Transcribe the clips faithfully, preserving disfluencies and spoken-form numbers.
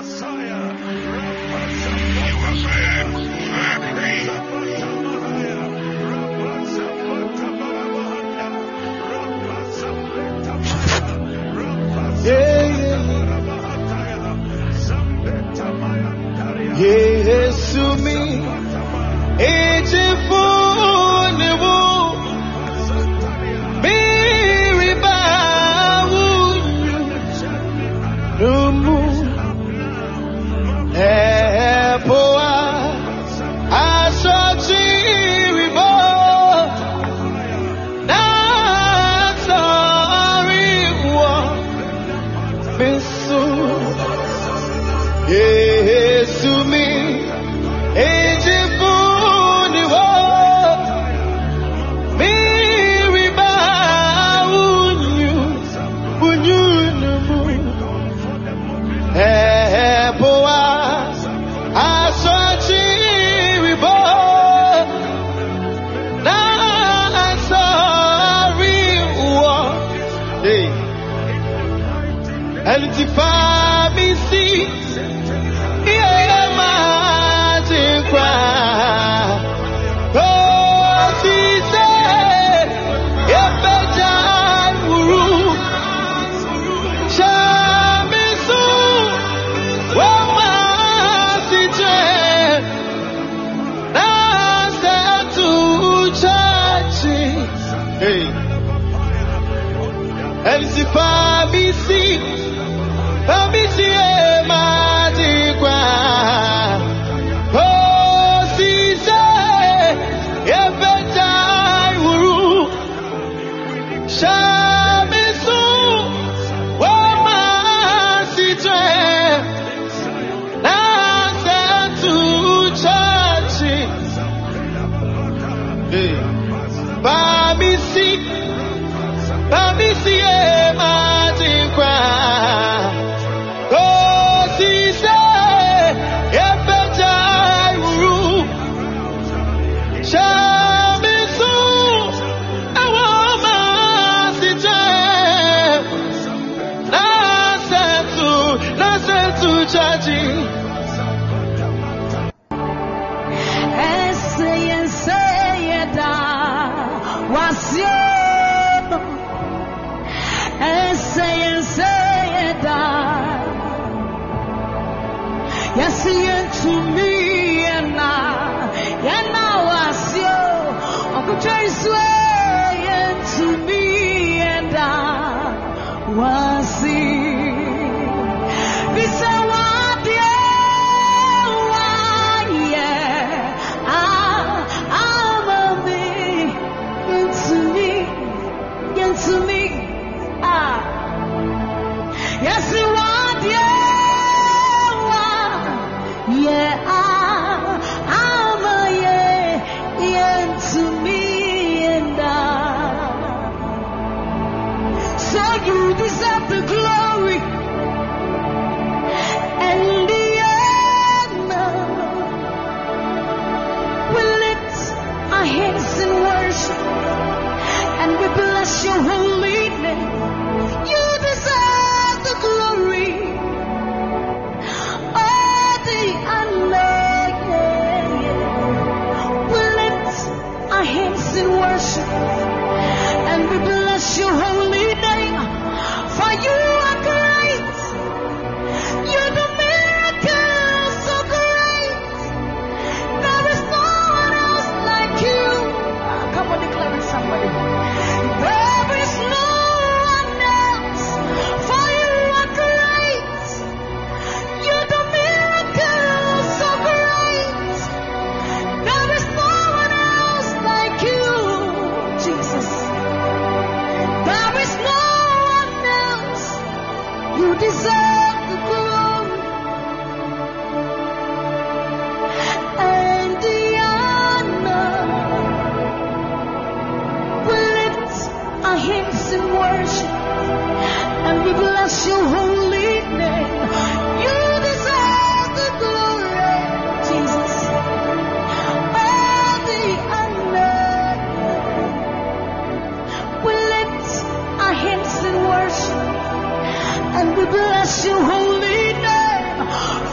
bless your holy name.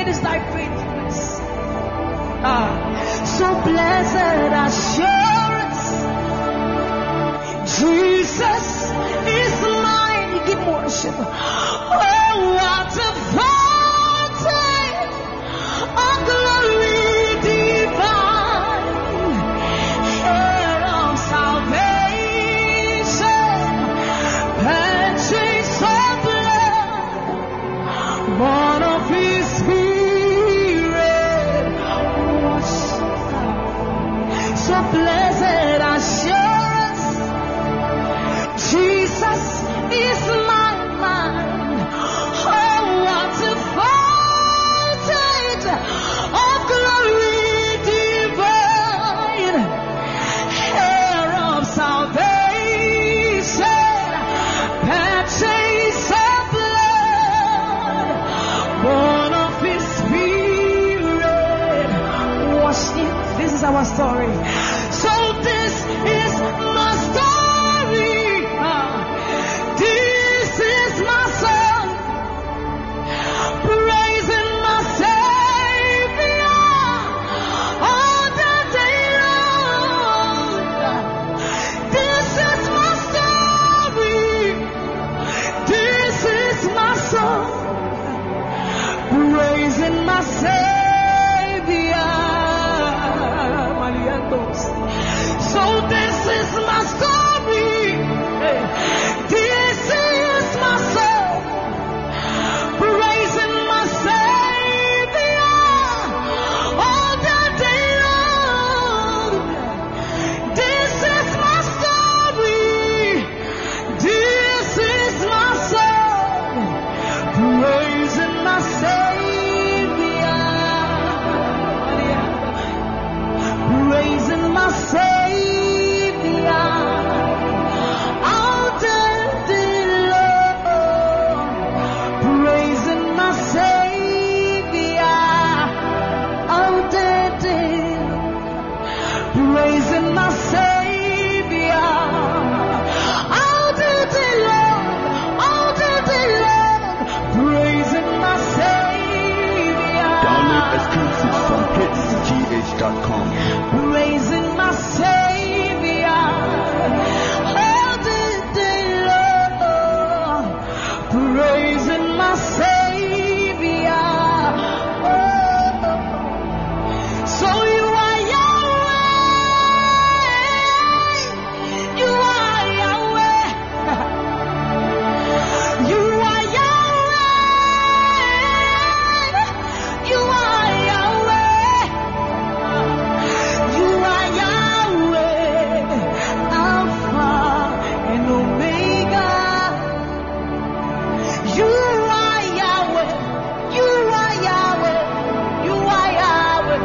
Great is thy faithfulness. Ah, so blessed assurance, Jesus is mine. Give worship. Oh, what a fountain of glory divine, heir of salvation, purchase of blood, born of His Spirit. So blessed assurance, Jesus is my mind. Oh, what a fountain of glory divine, heir of salvation, purchase of blood, born of His Spirit. Washed in. This is our story. So this is my story. Ah, this is my song, praising my Savior all the day long. This is my story. This is my song, praising my Savior. So this is my story. This is my song, praising my Savior all the day long. This is my story. This is my song, praising my Savior, praising my Savior. Praising my Savior all the day long, all the day long, praising my Savior. Download exclusives from hits g h dot com. Praising my Savior all the day long, praising my Savior. So you are Yahweh, you are Yahweh, you are Yahweh, you are Yahweh, you are Yahweh, Alpha and Omega. You are Yahweh, you are Yahweh, you are Yahweh.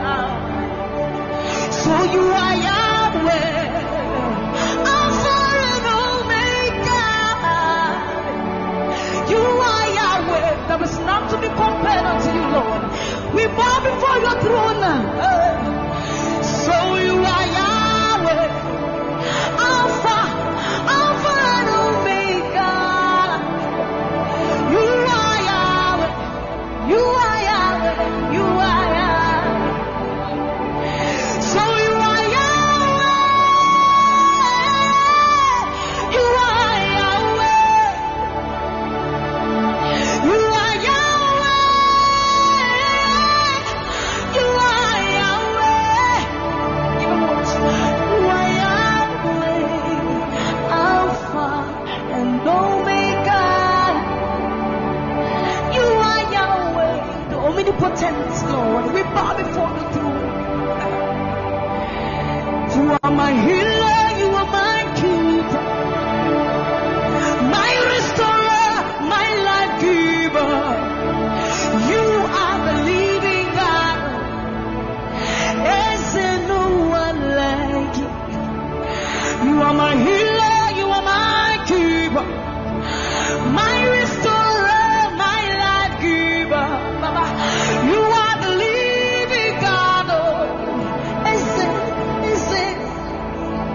So you are Yahweh, Alpha and Omega. You are Yahweh. There is none to be compared unto you, Lord. We bow before your throne. So you are Yahweh, Alpha, Alpha and Omega. You are Yahweh, you are Yahweh, you are Yahweh. So you are Yahweh, you are Yahweh, you are Yahweh, you are Yahweh. Even more. You are Yahweh, Alpha and Omega. You are Yahweh, the omnipotent Lord. We bow before the throne. You are my healer, you are my keeper, my restorer, my life giver. You are the living God. Is there no one like you? You are my healer, you are my keeper, my restorer, my life giver. Baba, you are the living God. Oh, is it, is it?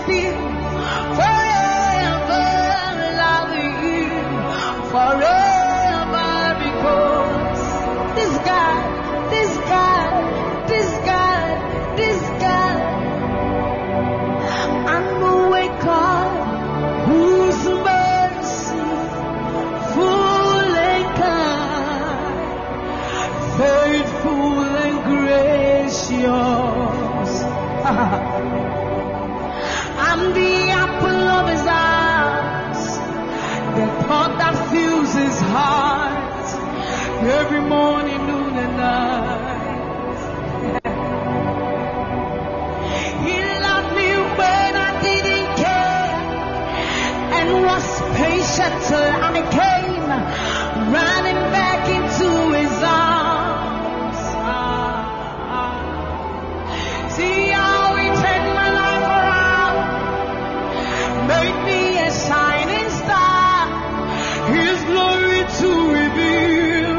worship you, forever love you, forever, because this God, this God, this God, this God, I'm awake God, whose mercy full and kind, faithful and gracious. I'm the apple of his eyes, the thought that fills his heart every morning, noon and night. He loved me when I didn't care and was patient till I came running back into his arms. See how he turned my life around, made me a shining star, his glory to reveal.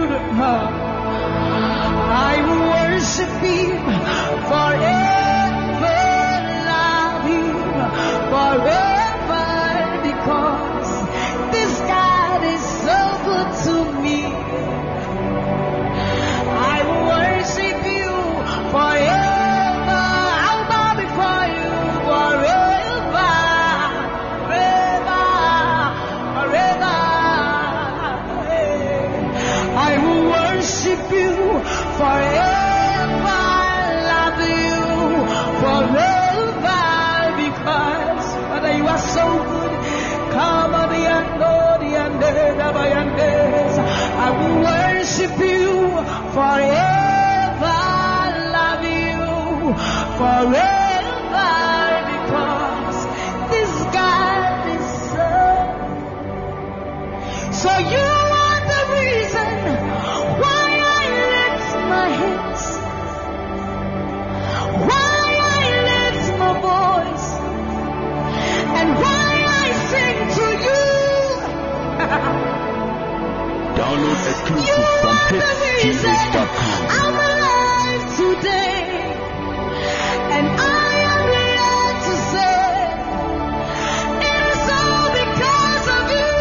I will worship him forever, love him forever, because this God is so good to me. I will worship you forever. I'll bow before you forever, forever, forever. I will worship you forever, love you forever, because Father, you are so good. Come on, the ando, the ande, the bayandes. I will worship you forever, love you forever, because this God is so. So you are the reason why I lift my hands, why I lift my voice, and why I sing to you. Download You exclusive from are the hits g reason h dot com. I'm alive today, and I am here to say it is all because of you.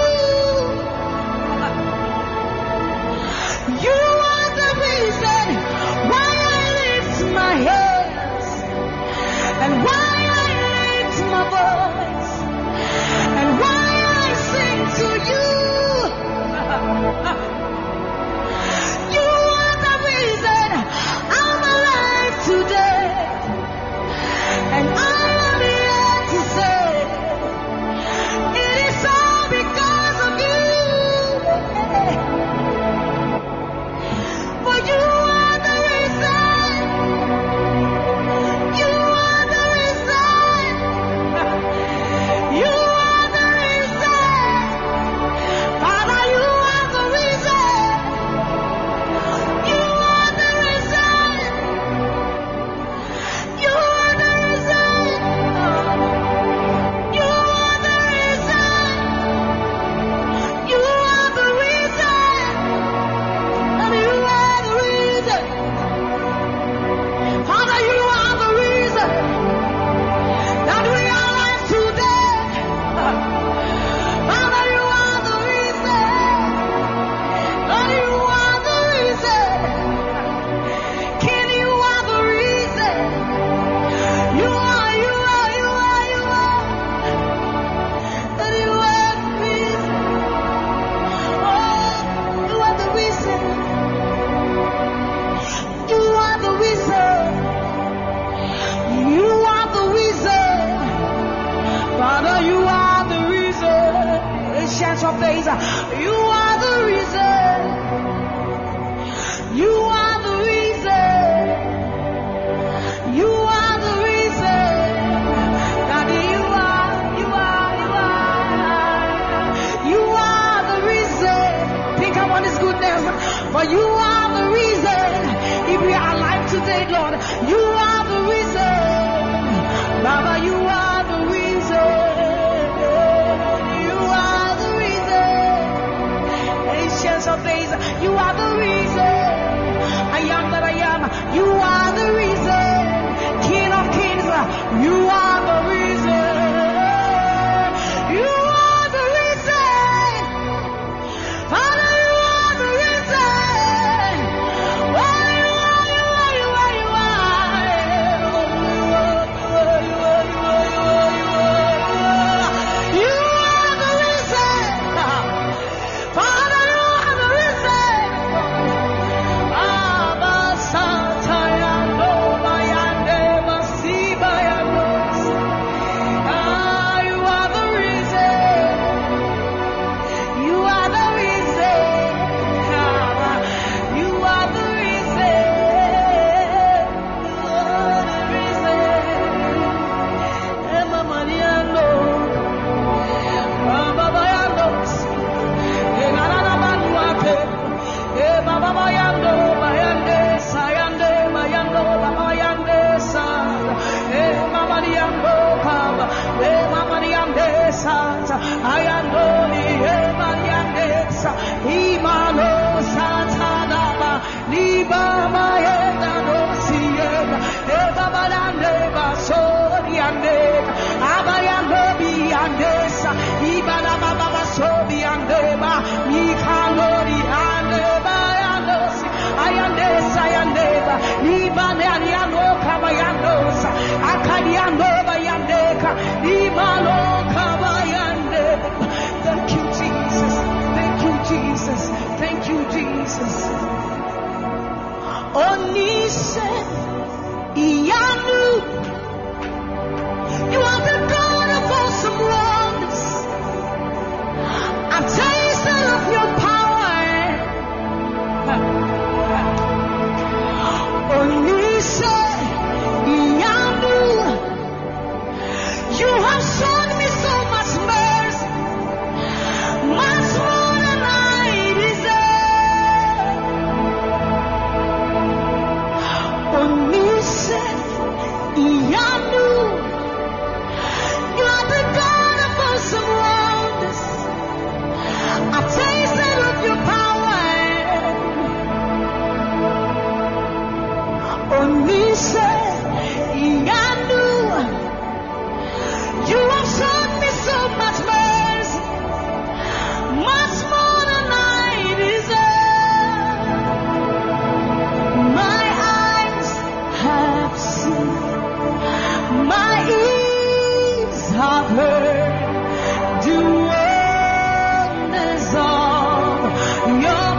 You are the reason why I lift my hands, and why I lift my voice, and why I sing to you. You are the reason I'm alive today, and I am here to say it is all because of you. For you are the reason. You are the reason. You are the reason. Father, you are the reason. You are the reason. You are the reason. You are the reason. You are the reason. And you are the reason. Father, you are the reason that we are alive today. Father, you are the reason. Lord, you are the reason. King, you are the reason. You are, you are, you are, you are. Lord, you are the reason. Oh, you are the reason. You are the reason. You are the reason. Father, you are the reason. Ancient of days, you are the reason. You are the reason. You are the reason. Daddy, you are, you are, you are. You are the reason. Think about his goodness. For you are the reason. If we are alive today, Lord, you are the reason. Baba, you are the reason. You are the reason. Ancients of days, you are the reason. I am that I am. You are the reason. King of kings, you are the reason. Thank you, Jesus. Thank you, Jesus. Thank you, Jesus. Onise Iyanu, you are the God of awesome wonders. I've tasted of your power. Onise Iyanu, you have shown me so much mercy, much more than I deserve. Onise Iyanu, you are the God of awesome wonders. I've tasted of your power. Onise Iyanu, you have shown me so much mercy, much more than I deserve. My eyes have seen, my ears have heard the wonders of your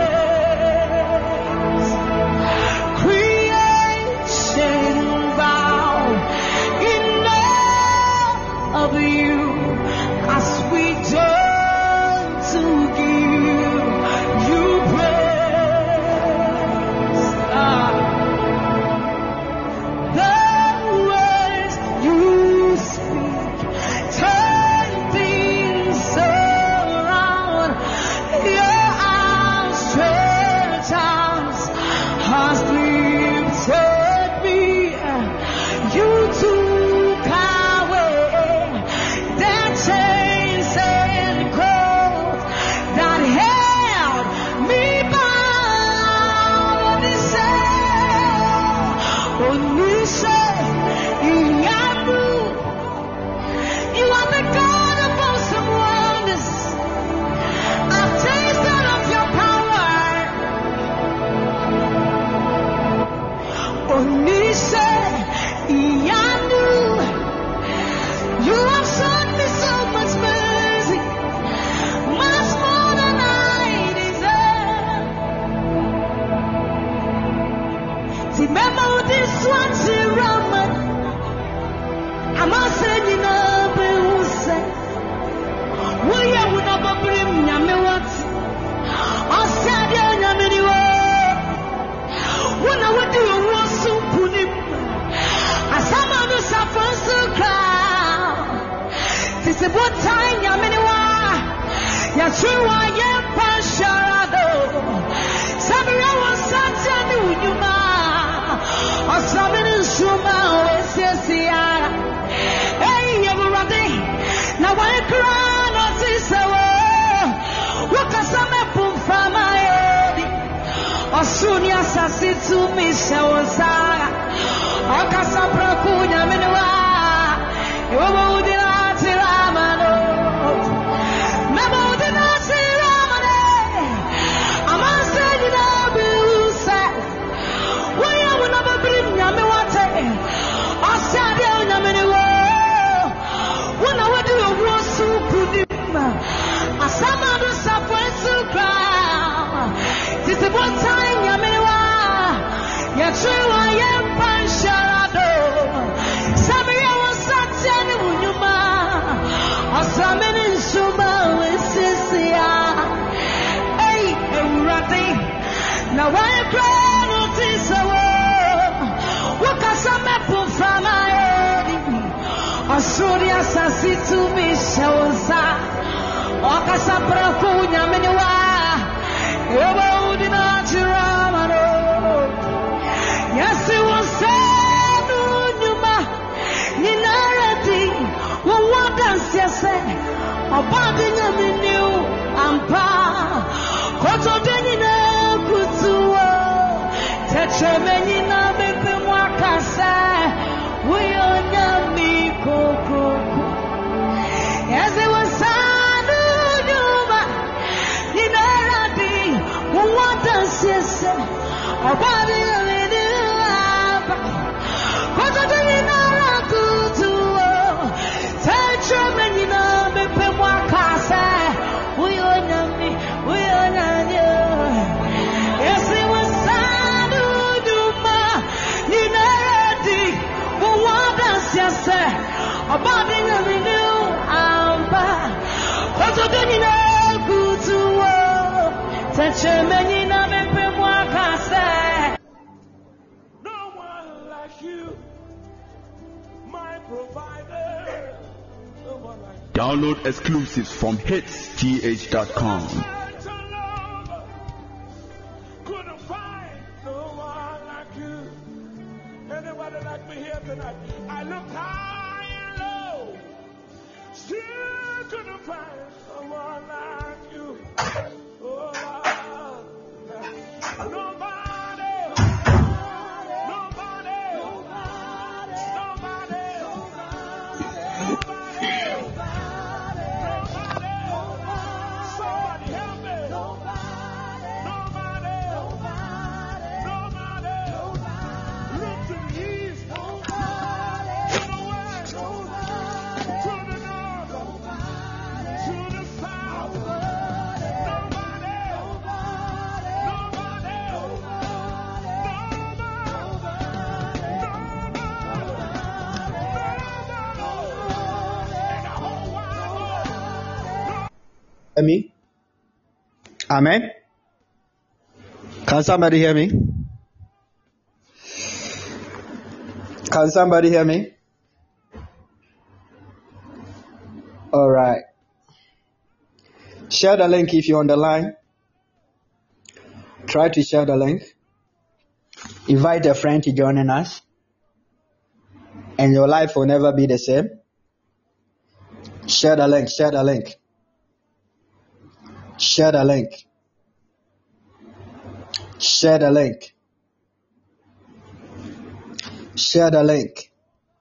praise. Creation bow in awe of you as we turn to give you praise. Ah. The words you speak turn things around. Your outstretched arms has lifted me. You took away the chains and cords that held me bound. Onise Iyanu, you are the God of awesome wonders. I've tasted of your power. Onise Iyanu, you have shown me so much mercy, much more than I deserve. Remember this one, Raman. I'm a saying, no, say, we are with a brim, Yamewat. I said, Yamini. When I would do a war so punim, as someone who suffers to cry. This is what time Yaminiwa. Yashua Yam Pasharado. Sabra was such a new Yuma. Or something in Shuma, Wessia. Hey, everybody. Now I cry, not this hour. What a summer boom from my head. Osunia Sasitu Mishawasaga. Okasapra Kunya Minua. Yobudinati Ramano. Mabudinati Ramane. Amasa Yinabusa. We will never bring Yamiwate. Osadia Yaminua. When I would do a war so Pudima. Asamadu Sapuensu Crown. This is what time Yamiwa. Yachua Yam Pansharado. Sabria was such an Unyuma. Asamin in Suma with Sisia. Hey, Rati. Now I cry notice away. What can some apple from my head? Asuria Sasitu Mishawaza. Okasapra Kunya Miniwa. Yobudinati Ramano. Yes, it was said, Numa, Ninarati, what does you say? About the Yaminu, Ampa, Koto Denina, Kutua, Tetremeni na bepe mwakasa. Uyonya mi koko. As it was sanu nyuma. Ninaradi. Uwata sese. Abadi amini aba. Koto tini nara kutuo. Tetremeni na bepe mwakasa. Uyonya mi. Uyonya mi. Yes, it was sanu nyuma. Ninaradi. Uwata sese. Abadi amini aba. Koto tini nara kutuo. Tetremeni na bepe mwakasa. No one like you, my provider. No one like you. Download exclusives from hits T H dot com. To love, couldn't find no one like you. Anybody like me here tonight? I looked high and low, still couldn't find no one like you. Oh, Lord. Nobody, nobody, nobody, nobody, nobody. Somebody help me. Nobody, nobody. Look to the east, to the west, to the north, to the south. Nobody, Me? Amen. Can somebody hear me? Can somebody hear me? All right. Share the link if you're on the line. Try to share the link. Invite a friend to join us. And your life will never be the same. Share the link. Share the link. Share the link. Share the link. Share the link.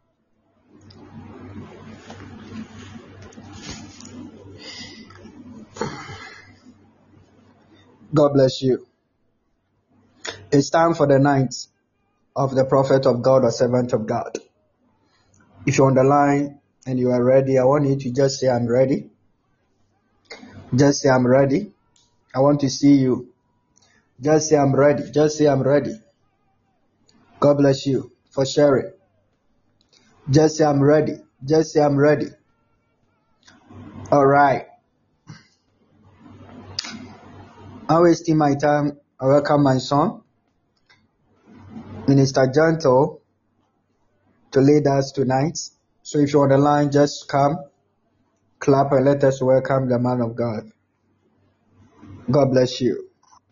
God bless you. It's time for the night of the prophet of God or servant of God. If you're on the line and you are ready, I want you to just say, I'm ready. Just say, I'm ready. I want to see you. Just say, I'm ready. Just say, I'm ready. God bless you for sharing. Just say, I'm ready. Just say, I'm ready. All right. I'm wasting my time. I welcome my son, Minister Gentle, to lead us tonight. So if you're on the line, just come, clap, and let us welcome the man of God. God bless you.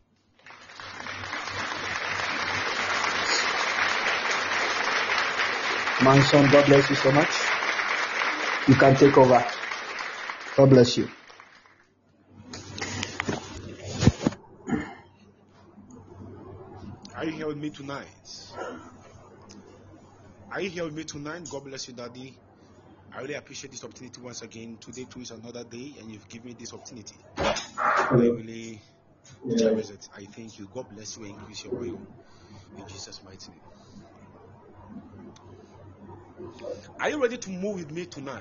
My son, God bless you so much. You can take over. God bless you. are you here with me tonight? Are you here with me tonight? God bless you, Daddy. I really appreciate this opportunity once again. Today too is another day, and you've given me this opportunity. I really cherish it. I thank you. God bless you and increase your oil in Jesus' mighty name. Are you ready to move with me tonight?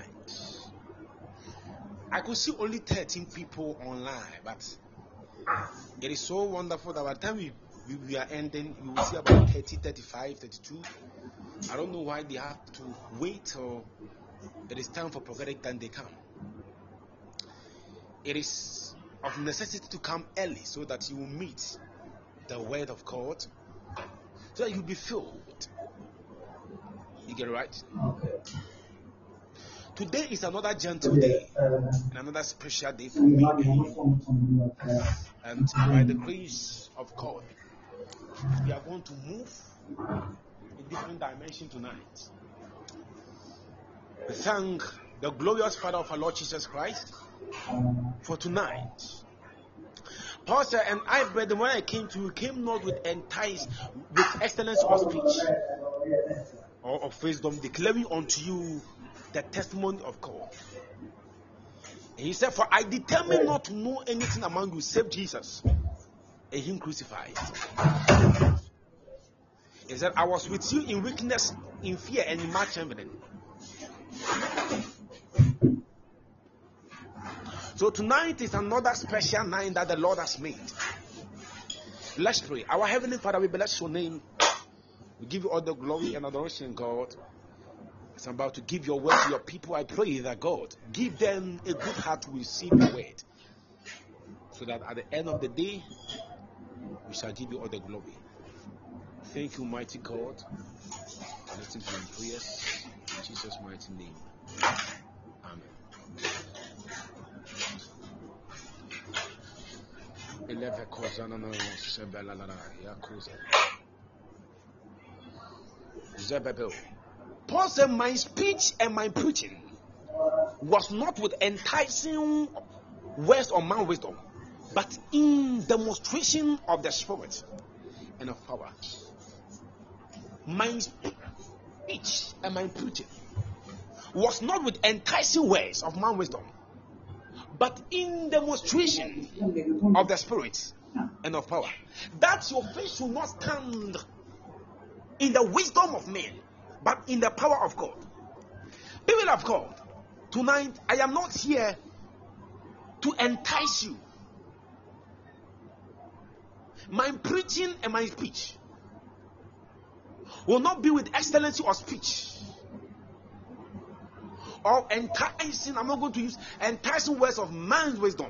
I could see only thirteen people online, but it is so wonderful that by the time we, we, we are ending, you will see about thirty, thirty-five, thirty-two. I don't know why they have to wait or it is time for prophetic time they come. It is of necessity to come early so that you will meet the word of God, so that you'll be filled. You get it right? Okay. Today is another gentle day and another special day for me and you. And by the grace of God, we are going to move in different dimensions tonight. We thank the glorious Father of our Lord Jesus Christ for tonight. Paul said, and I, brethren, when I came to you, came not with entice, with excellence of speech or of wisdom, declaring unto you the testimony of God. And he said, for I determined not to know anything among you save Jesus and him crucified. He said, I was with you in weakness, in fear, and in much trembling. So tonight is another special night that the Lord has made. Let's pray. Our Heavenly Father, we bless your name. We give you all the glory and adoration, God. As I'm about to give your word to your people, I pray that God, give them a good heart to receive your word. So that at the end of the day, we shall give you all the glory. Thank you, mighty God. Listen to your prayers. In Jesus' mighty name. Amen. Paul said, my speech and my preaching was not with enticing words or man wisdom, but in demonstration of the Spirit and of power. My speech and my preaching was not with enticing words of man wisdom, but in demonstration of the Spirit and of power. That your faith should not stand in the wisdom of men, but in the power of God. People of God, tonight I am not here to entice you. My preaching and my speech will not be with excellency of speech or enticing. I'm not going to use enticing words of man's wisdom,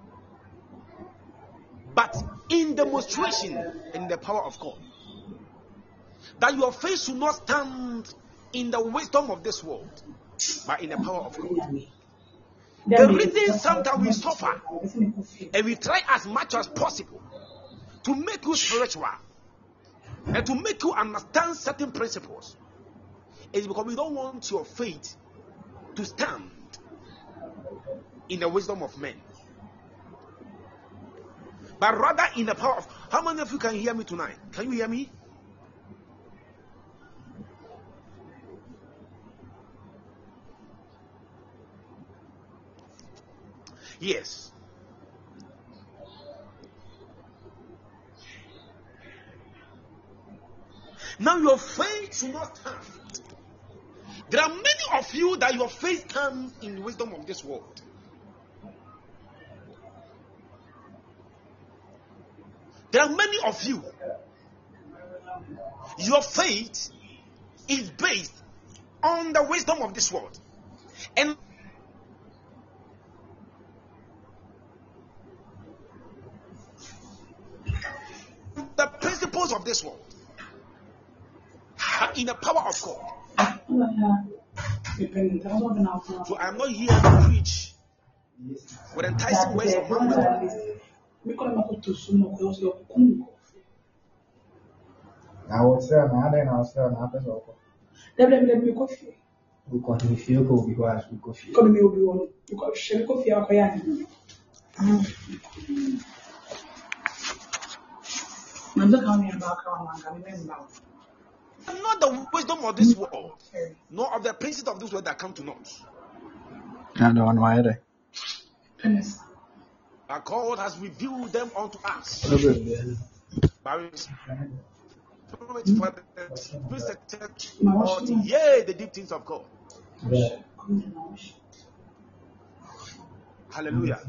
but in demonstration in the power of God. That your faith should not stand in the wisdom of this world, but in the power of God. The reason sometimes we suffer and we try as much as possible to make you spiritual and to make you understand certain principles is because we don't want your faith to stand in the wisdom of men, but rather in the power of. How many of you can hear me tonight? Can you hear me? Yes. Now your faith should not stand. There are many of you that your faith stands in the wisdom of this world. There are many of you. Your faith is based on the wisdom of this world. And the principles of this world are in the power of God. So I am not here to preach with enticing words of man wisdom. Not the wisdom of this world, nor of the principles of this world that come to naught. But God has revealed them unto us. By His Spirit, for the yea, the deep things of God. Hallelujah.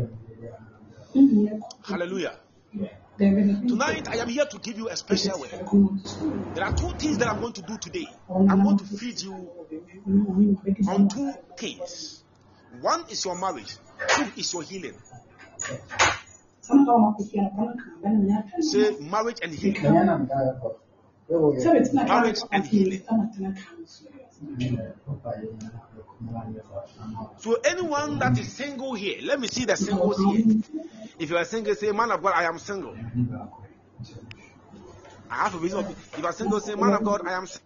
Hallelujah. Tonight I am here to give you a special word. There are two things that I'm going to do today. I'm going to feed you on two things. One is your marriage, two is your healing. Say marriage and healing. Marriage and healing. So anyone that is single here, let me see the singles here. If you are single, say, man of God, I am single. I have a reason. If you are single, say, man of God, I am single.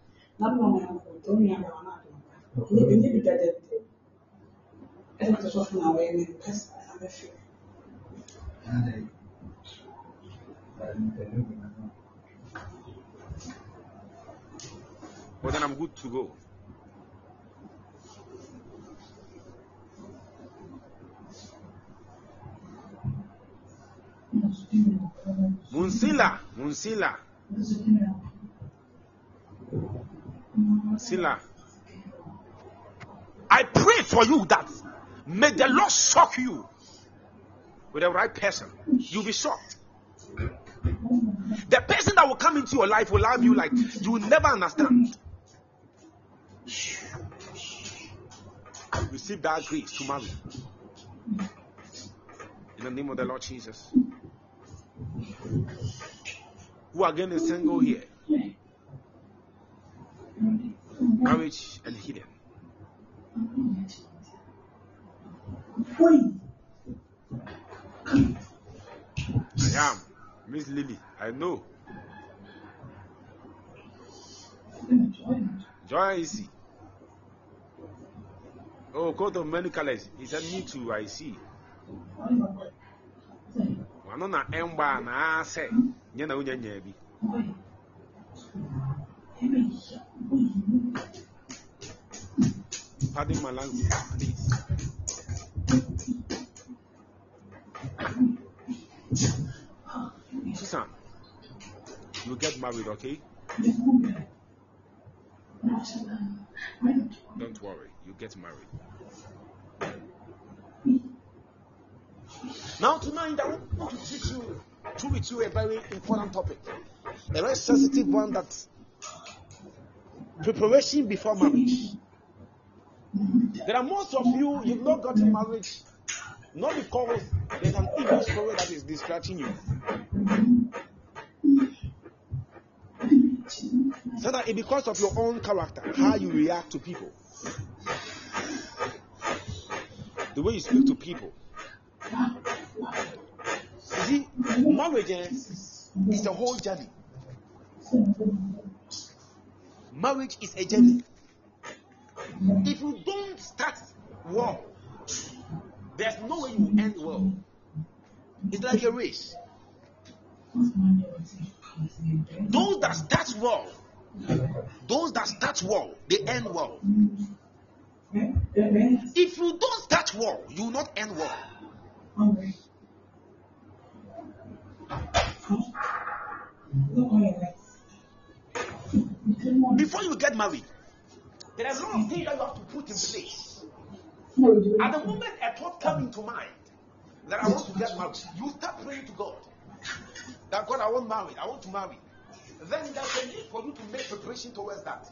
Well, then I'm good to go. Munsila, Munsila, Munsila. I pray for you that may the Lord shock you with the right person. You'll be shocked. The person that will come into your life will love you like you will never understand. Receive that grace to marry. In the name of the Lord Jesus. Who are getting single here? Marriage and healing. I am Miss Lily. I know. Joy easy. Oh, coat of many colors. He said, me too, I see. One on an ember, and I say, you know, you pardon my language, please. Susan, you get married, okay? Don't worry, you get married. Now tonight I want to teach you, to with you a very important topic, a very sensitive one, that preparation before marriage. There are most of you, you've not gotten married, not because there's an evil story that is distracting you. So that it's because of your own character, how you react to people, the way you speak to people. You see, marriage is a whole journey. Marriage is a journey. If you don't start well, there's no way you end well. It's like a race. Those that start well, those that start well, they end well. If you don't start well, you will not end well. Before you get married, there are a lot of things that you have to put in place. At the moment a thought comes into mind that I want to get married, you start praying to God that God, I want married, I want to marry. Then there's a need for you to make preparation towards that.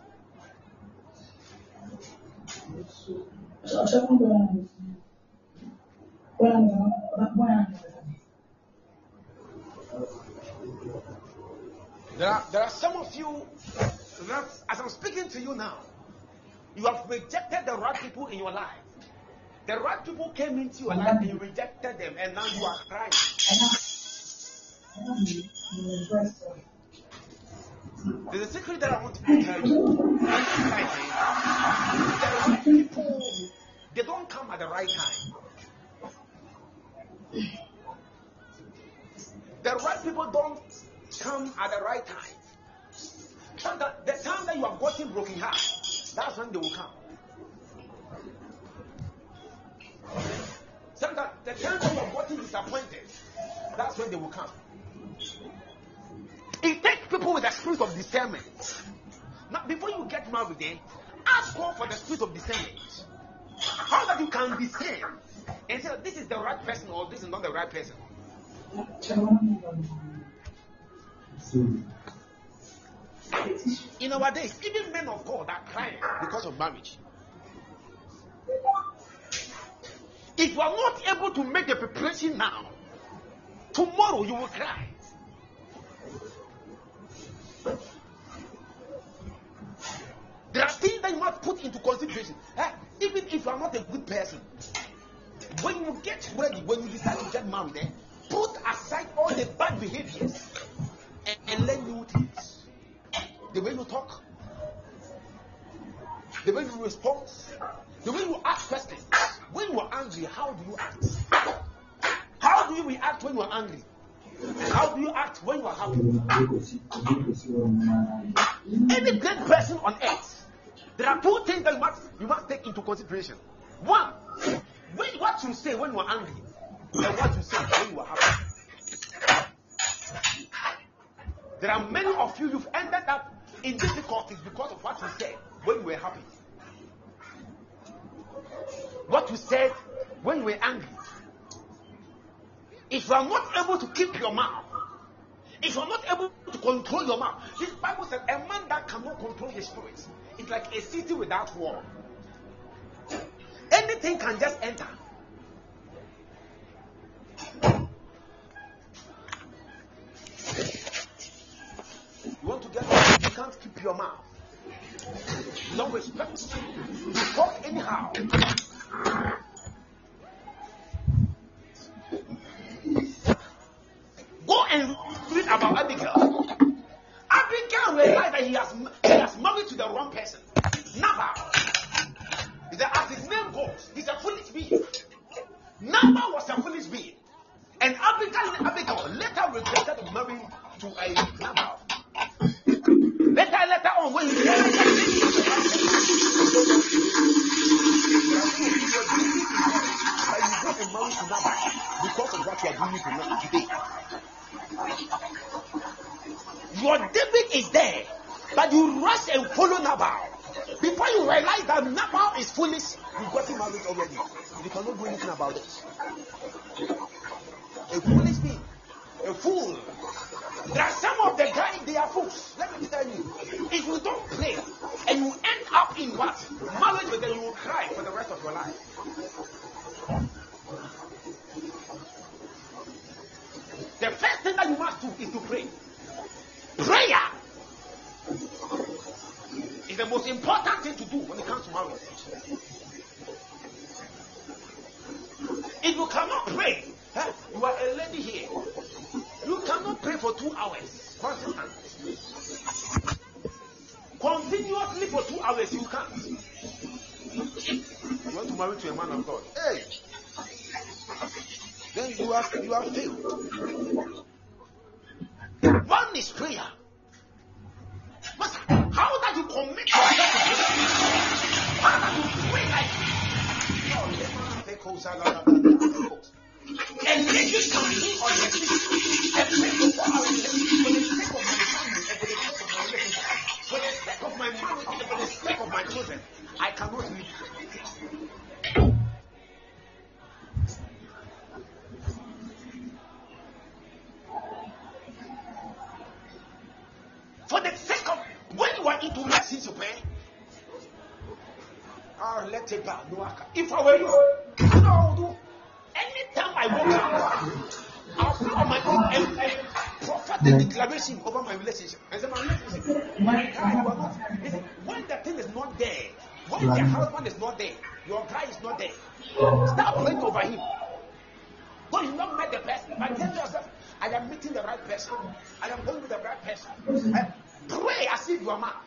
There are, there are some of you that, as I'm speaking to you now, you have rejected the right people in your life. The right people came into your life and you rejected them, and now you are crying. There's a secret that I want to tell you. The right people, they don't come at the right time. The right people don't come at the right time. So that the time that you have gotten broken heart, that's when they will come. So that the time that you have gotten disappointed, that's when they will come. It takes people with the spirit of discernment. Now, before you get married, eh, ask God for the spirit of discernment. How that you can discern and say this is the right person or this is not the right person. In our days, even men of God are crying because of marriage. If you are not able to make the preparation now, tomorrow you will cry. There are things that you must put into consideration. Eh, even if you are not a good person, when you get ready, when you decide to get married, eh, put aside all the bad behaviors and, and learn new things. The way you talk, the way you respond, the way you ask questions. When you are angry, how do you act? How do you react when you are angry? How do you act when you are happy? Any great person on earth, there are two things that you must you must take into consideration. One, when, what you say when you are angry, and what you say when you are happy. There are many of you you've ended up in difficulties because of what you said when you were happy. What you said when you were angry. If you are not able to keep your mouth, if you are not able to control your mouth, this Bible says a man that cannot control his spirit is like a city without wall. Anything can just enter. You want to get up, you can't keep your mouth. You don't respect. You talk anyhow. Go and read about Abigail. Abigail realized that he has, he has married to the wrong person. Nabal. He said, as his name goes, he's a foolish being. Nabal was a foolish being. And Abigail, Abigail later regretted marrying to a Nabal. Later, later on, when he realized that you go and marry to Nabal because of what you are doing to today. Your David is there, but you rush and follow Nabal. Before you realize that Nabal is foolish, you got him married already. You cannot do anything about it. A foolish being, a fool. There are some of the guys, they are fools. Let me tell you, if you don't pray and you end up in what? Marriage with them, you will cry for the rest of your life. The first thing that you must do is to pray. Prayer is the most important thing to do when it comes to marriage. If you cannot pray, huh, you are a lady here. You cannot pray for two hours. Constant. Continuously for two hours, you can't. You want to marry to a man of God. Hey! Then you are you are failed. One is prayer. Master, how that you commit yourself to prayer? How that you pray like and ladies can be on the feet and pray for four hours for the sake of my family and for the sake of my relationship, for the sake of my marriage and for the sake of my children. I cannot live. For the sake of when you are into message you pray. Ah, let it go. If I were you, you know what I would do? Anytime I walk out, I'll put on my own and, and prophetic declaration over my relationship. I say, my relationship, my guy, you are not. Listen, when the thing is not there, when the husband is not there, your guy is not there, start praying over him. Though you not met the person, but tell yourself, I am meeting the right person. I am going with the right person. I pray as if you are mad.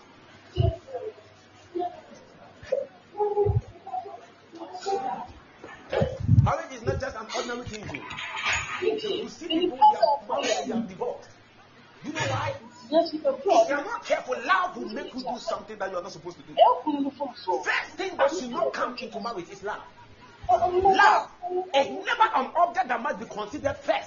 Marriage is not just an ordinary thing. You see people who are married and divorced. You know why? If you are not careful, love will make you do something that you are not supposed to do. First thing that should not come into marriage is love. Love is never an object that must be considered first.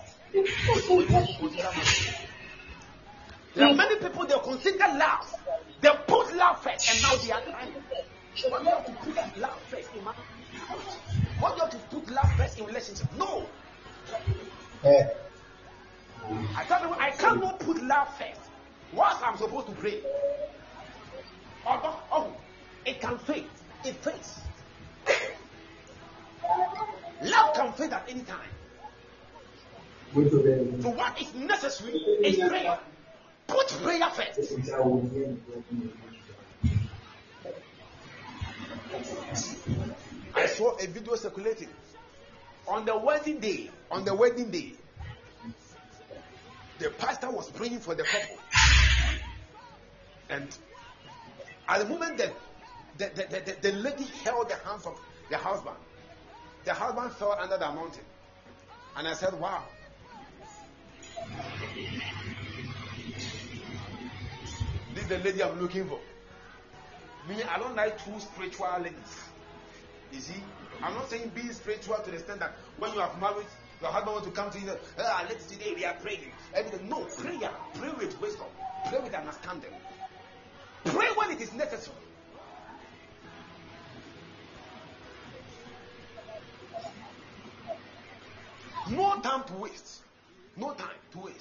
There are many people, they consider love. They put love first and now they are crying. But you have to put love first in marriage. What do you have to put love first in relationship? No. Yeah. I tell you, I cannot put love first. What I'm supposed to pray? Oh, oh, it can fade. It fades. Love can fade at any time. So what is necessary is prayer. Put prayer first. I saw a video circulating on the wedding day. On the wedding day, the pastor was praying for the couple, and at the moment that the, the, the, the, the lady held the hands of the husband, the husband fell under the mountain, and I said, "Wow, This is the lady I'm looking for. Me, I don't like two spiritual ladies. You see, I'm not saying being spiritual to the extent that when you have married, your husband wants to come to you, ah, let's today we are praying. Everything. No, prayer. Pray with wisdom. Pray with understanding. Pray when it is necessary. No time to waste. No time to waste.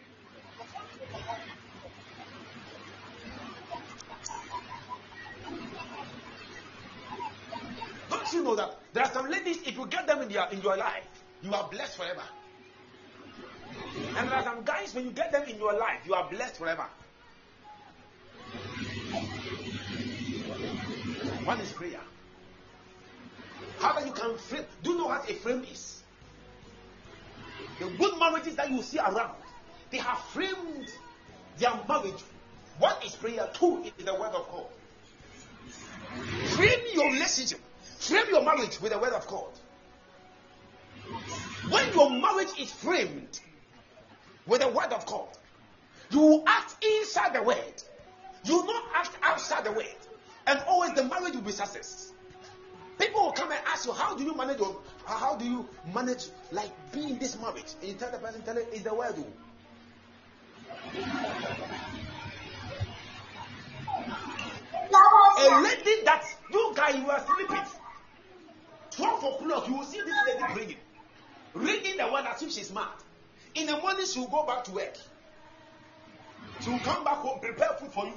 Don't you know that there are some ladies, if you get them in your in your life, you are blessed forever. And there are some guys, when you get them in your life, you are blessed forever. One is prayer. How that you can frame. Do you know what a frame is? The good marriages that you see around, they have framed their marriage. One is prayer, two is the word of God. Frame your relationship, frame your marriage with the word of God. When your marriage is framed with the word of God, you will act inside the word. You will not act outside the word. And always the marriage will be success. People will come and ask you, how do you manage your, how do you manage like being in this marriage? And you tell the person, tell it, it's the word. A lady that you guys you are sleeping. twelve o'clock, you will see this lady praying. Reading the word as if she's mad. In the morning, she will go back to work. She will come back home, prepare food for you.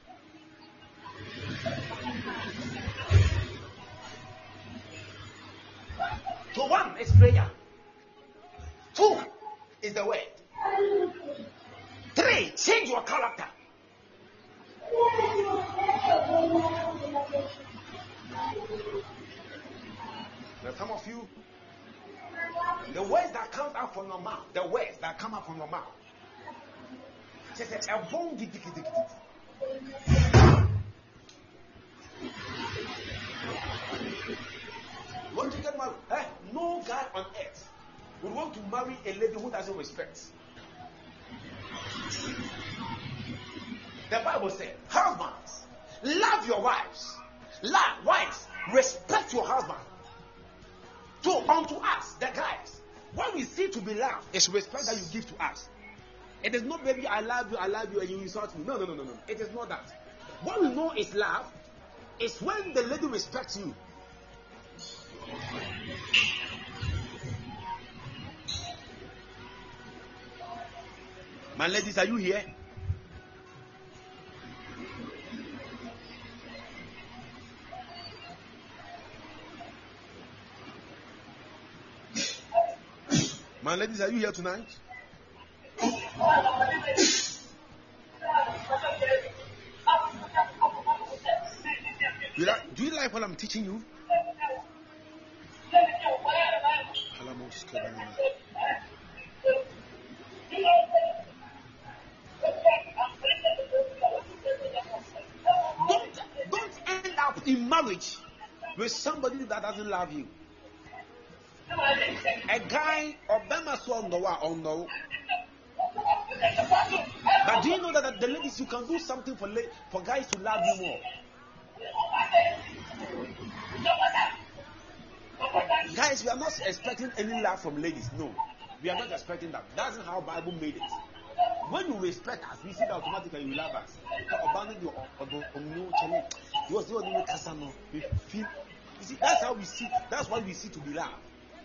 So one is prayer. Two is the word. Three, change your character. Now some of you, the words that come out from your mouth, the words that come out from your mouth, just a bone giddy giddy giddy. You want to get married? Eh? No guy on earth would want to marry a lady who doesn't respect. The Bible said, husbands, love your wives. Love wives, respect your husband. So unto us, the guys, what we see to be love is respect that you give to us. It is not, baby, I love you, I love you, and you insult me. No, no, no, no, no. It is not that. What we know is love is when the lady respects you. My ladies, are you here? My ladies, are you here tonight? Do you like, do you like what I'm teaching you? Don't, don't end up in marriage with somebody that doesn't love you. A guy or Bema so on the on the. But do you know that, that the ladies, you can do something for la- for guys to love you more? Guys, we are not expecting any love from ladies. No, we are not expecting that. That's not how Bible made it. When you respect us, we see that automatically you love us. We feel. You see, that's how we see. That's what we see to be love.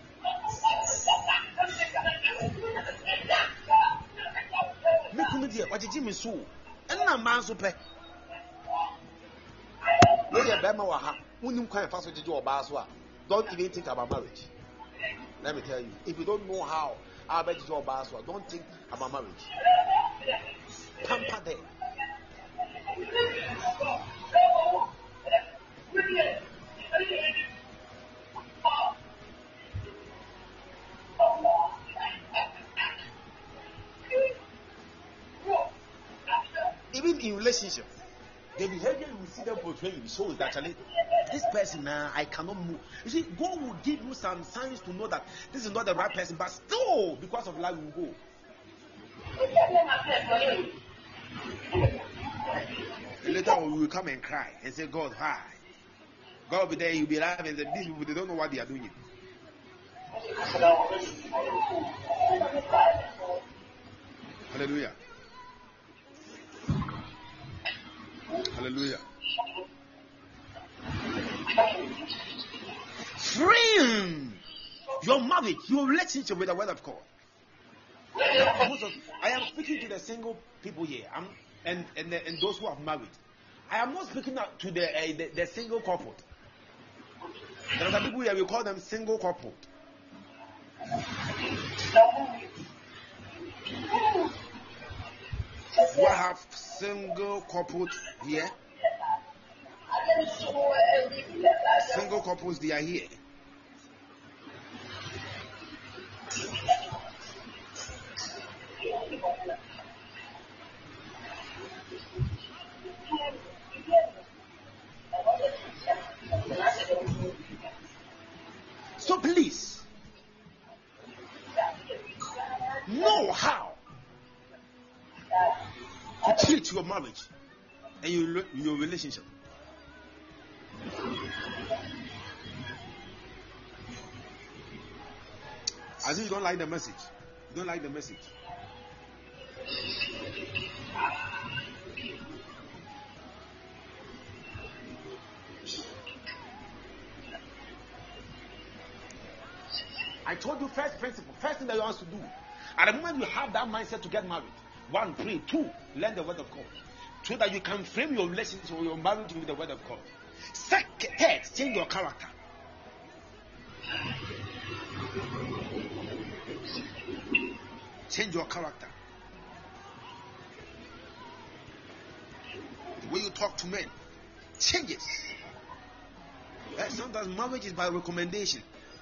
Me come here, what did you miss? And I'm man so pay. Don't even think about marriage. Let me tell you, if you don't know how, I bet you don't think about marriage. Pamper them. Even in relationship, the behavior you see them portraying shows that actually this person now, I cannot move. You see, God will give you some signs to know that this is not the right person, but still, because of love, you will go. And later on, we will come and cry and say, God, why? God will be there, you'll be laughing, and say, these people, they don't know what they are doing. Hallelujah. Hallelujah. Free your marriage, your relationship with the word of God. Most of, I am speaking to the single people here, I'm, and and, the, and those who have married. I am not speaking to the, uh, the the single couple. There are some people here, we call them single couple. We have single couples here. Single couples, they are here. So please know how to treat your marriage and your, your relationship. As if you don't like the message. You don't like the message. I told you first principle, first thing that you want to do. At the moment you have that mindset to get married, one, pray. Two, learn the word of God, so that you can frame your relationship or your marriage with the word of God. Second, third, change your character. Change your character. The way you talk to men changes. Yeah, sometimes marriage is by recommendation.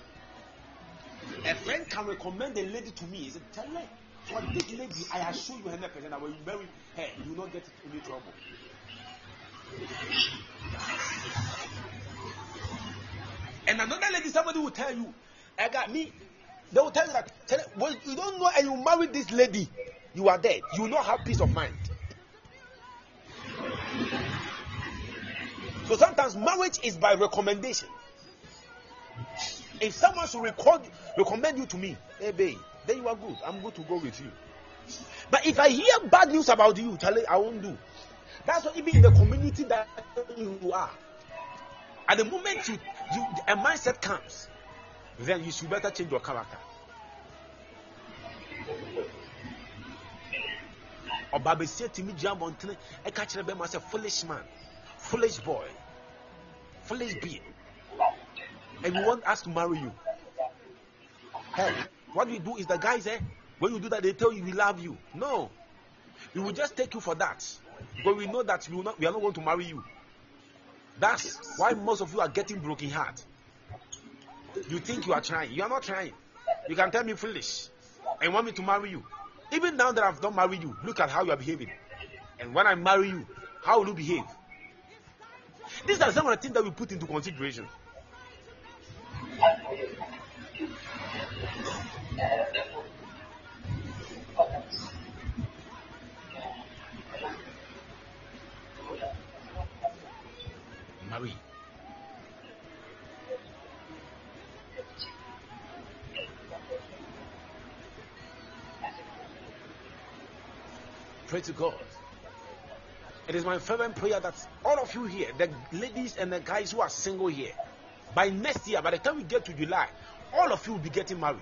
A friend can recommend a lady to me. He said, tell her, for this lady, I assure you one hundred percent that when you marry her, you will not get any trouble. And another lady, somebody will tell you, I got me. They will tell you that, tell her, well, you don't know and you marry this lady, you are dead. You will not have peace of mind. So sometimes marriage is by recommendation. If someone should record, recommend you to me, hey babe, then you are good. I'm good to go with you. But if I hear bad news about you, Charlie, I won't do. That's what even in the community that you are. At the moment you, you a mindset comes, then you should better change your character. Or Baba said to me, jump on train, I catch them as a foolish man, foolish boy, foolish being. And we want us to marry you. Hey, what we do is the guys, eh, when you do that, they tell you we love you. No. We will just take you for that. But we know that we, will not, we are not going to marry you. That's why most of you are getting broken heart. You think you are trying. You are not trying. You can tell me foolish and want me to marry you. Even now that I've not married you, look at how you are behaving. And when I marry you, how will you behave? These are some of the things that we put into consideration. Marie. Pray to God. It is my fervent prayer that all of you here, the ladies and the guys who are single here, by next year, by the time we get to July, all of you will be getting married.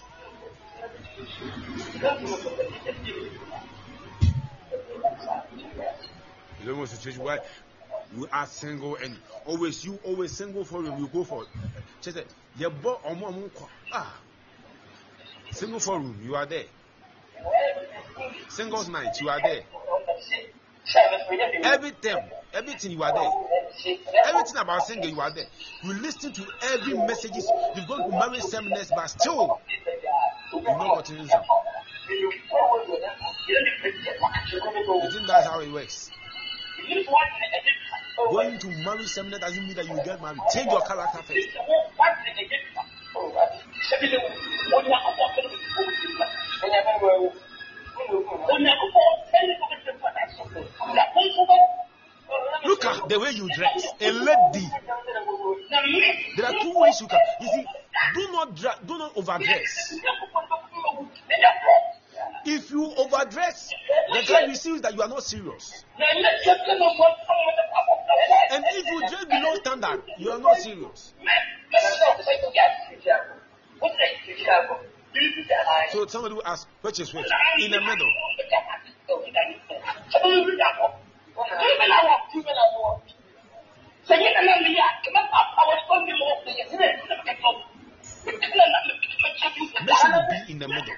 You don't want a situation where you are single and always you always single for you, you go for it. She said, "You bought ah, single forum, you are there. Singles night, you are there. Everything, everything you are there. Everything about single, you are there. You listen to every messages. You've gone to marriage seminars, but still, you've not gotten answer. You think that's how it works? Going to marriage seminar doesn't mean that you get married. Change your character first. the way you dress. A lady. There are two ways you can. You see, do not dra- do not overdress. If you overdress, the guy receives that you are not serious. And if you dress below standard, you are not serious. So somebody will ask, which is which? In the middle. Make sure you be in the middle.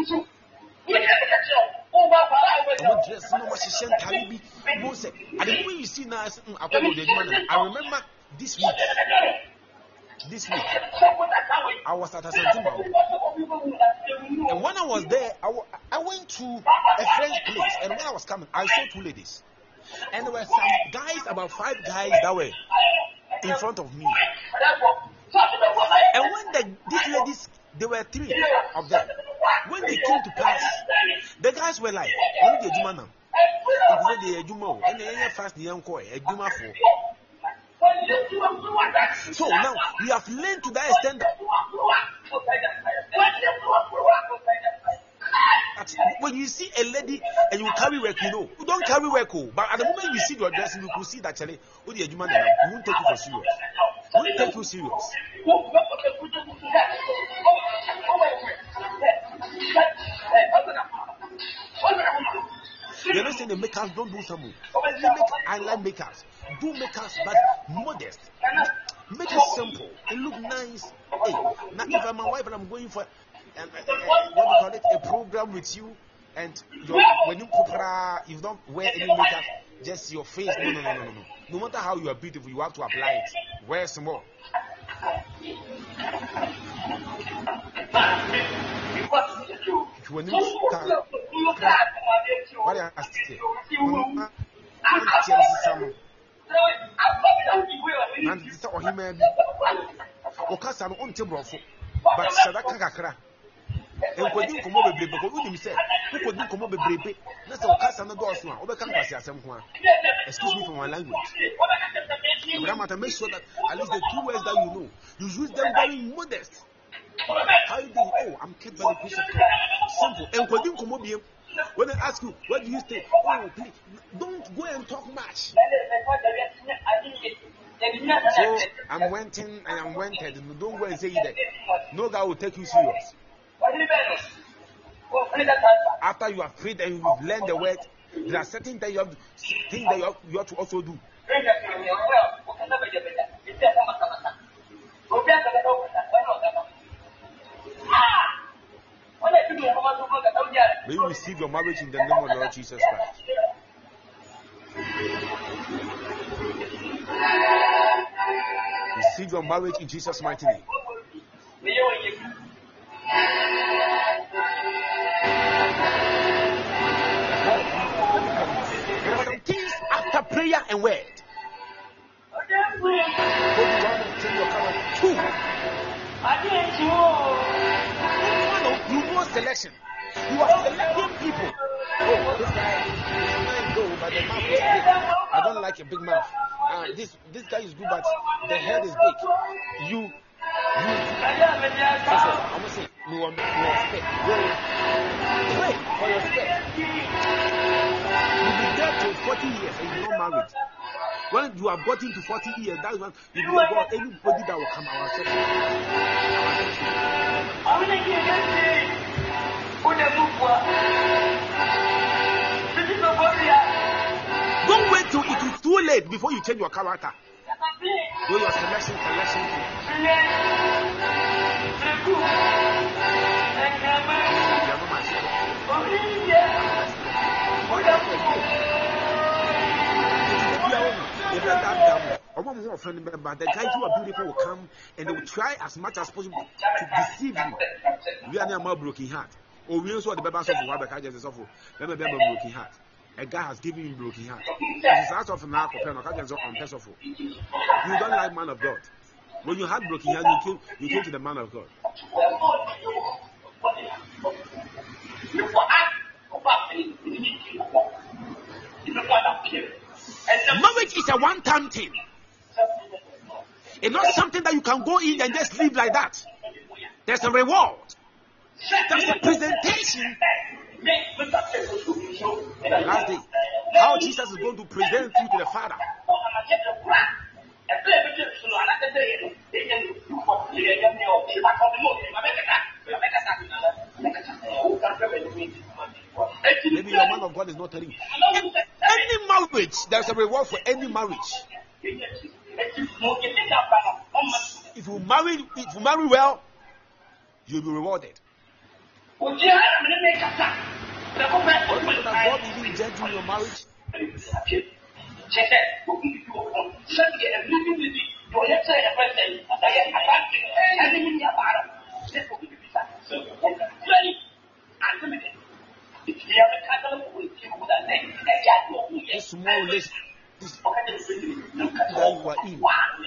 Dress, no much shame, Talibi, Mose. And the way you see now, I remember this week. This week, I was at a Santima. And when I was there, I, w- I went to a French place. And when I was coming, I saw two ladies. And there were some guys, about five guys that were in front of me. And when the, these ladies, there were three of them. When they came to pass, the guys were like, only the Juma now. The Juma, and the fast the young boy, a Juma for. So now we have learned to that extent that when you see a lady and you carry work, you know, you don't carry work, but at the moment you see your dressing, you could see that Charlie, oh, the Juma, we won't take you for serious. We won't take you serious. You're not saying the makers don't do something. You make eyeliner makers, do makers, but modest. Make it simple. It look nice. Hey, now if I'm a wife and I'm going for uh, uh, uh, what do you call it, a program with you, and you're, when you popra, you don't wear any makeup, just your face. No, no, no, no, no, no. No matter how you are beautiful, you have to apply it. Wear some more. When you start, what I asked you, and this or him, or Cassan on Tibrofo, but Sadaka Kakra. And when you come over, because you said, who could you come over, baby? That's all Cassan doors now, over campus, someone. Excuse me for my language. But make sure that at least the two words that you know, you use them very modest. How you do? Oh, I'm kept by the grace of God. Simple. And when you come over here, when I ask you, what do you say? Oh, please, don't go and talk much. So I'm wanting and I'm wanted. Don't go and say that. No guy will take you serious. After you have prayed and you've learned the word, there are certain things you have to, things that you have, you have to also do. May you receive your marriage in the name of the Lord Jesus Christ. Receive your marriage in Jesus' mighty name. There are some things after prayer and word. Two. You know selection. You are selecting people. Oh, this guy, I go, but the mouth is big. I don't like a big mouth. Uh, this this guy is good, but the head is big. You, you. Listen, I'm gonna say, you want your spec. Pray for your spec. You'll be dead till forty years and you're not married. When you have gotten to forty years, that's when you will go anybody that will come our section. Don't wait till it is too late before you change your character. Do your selection, selection. But the guys who are beautiful will come and they will try as much as possible to deceive you. We are near my broken heart. Or we also the baby of Wabaka just suffer. Let me be a broken heart. A guy has given you broken heart. It's out of an arc of unpeaceful. You don't like man of God. When you had broken heart, you came, you came to the man of God. Marriage is a one-time thing. It's not something that you can go in and just live like that. There's a reward. There's a presentation. Last day, how Jesus is going to present you to the Father. Maybe your man of God is not telling you. Any marriage, there's a reward for any marriage. If you marry, if you marry well, you'll be rewarded. What does God even judge in your marriage? This small list, this that you are in.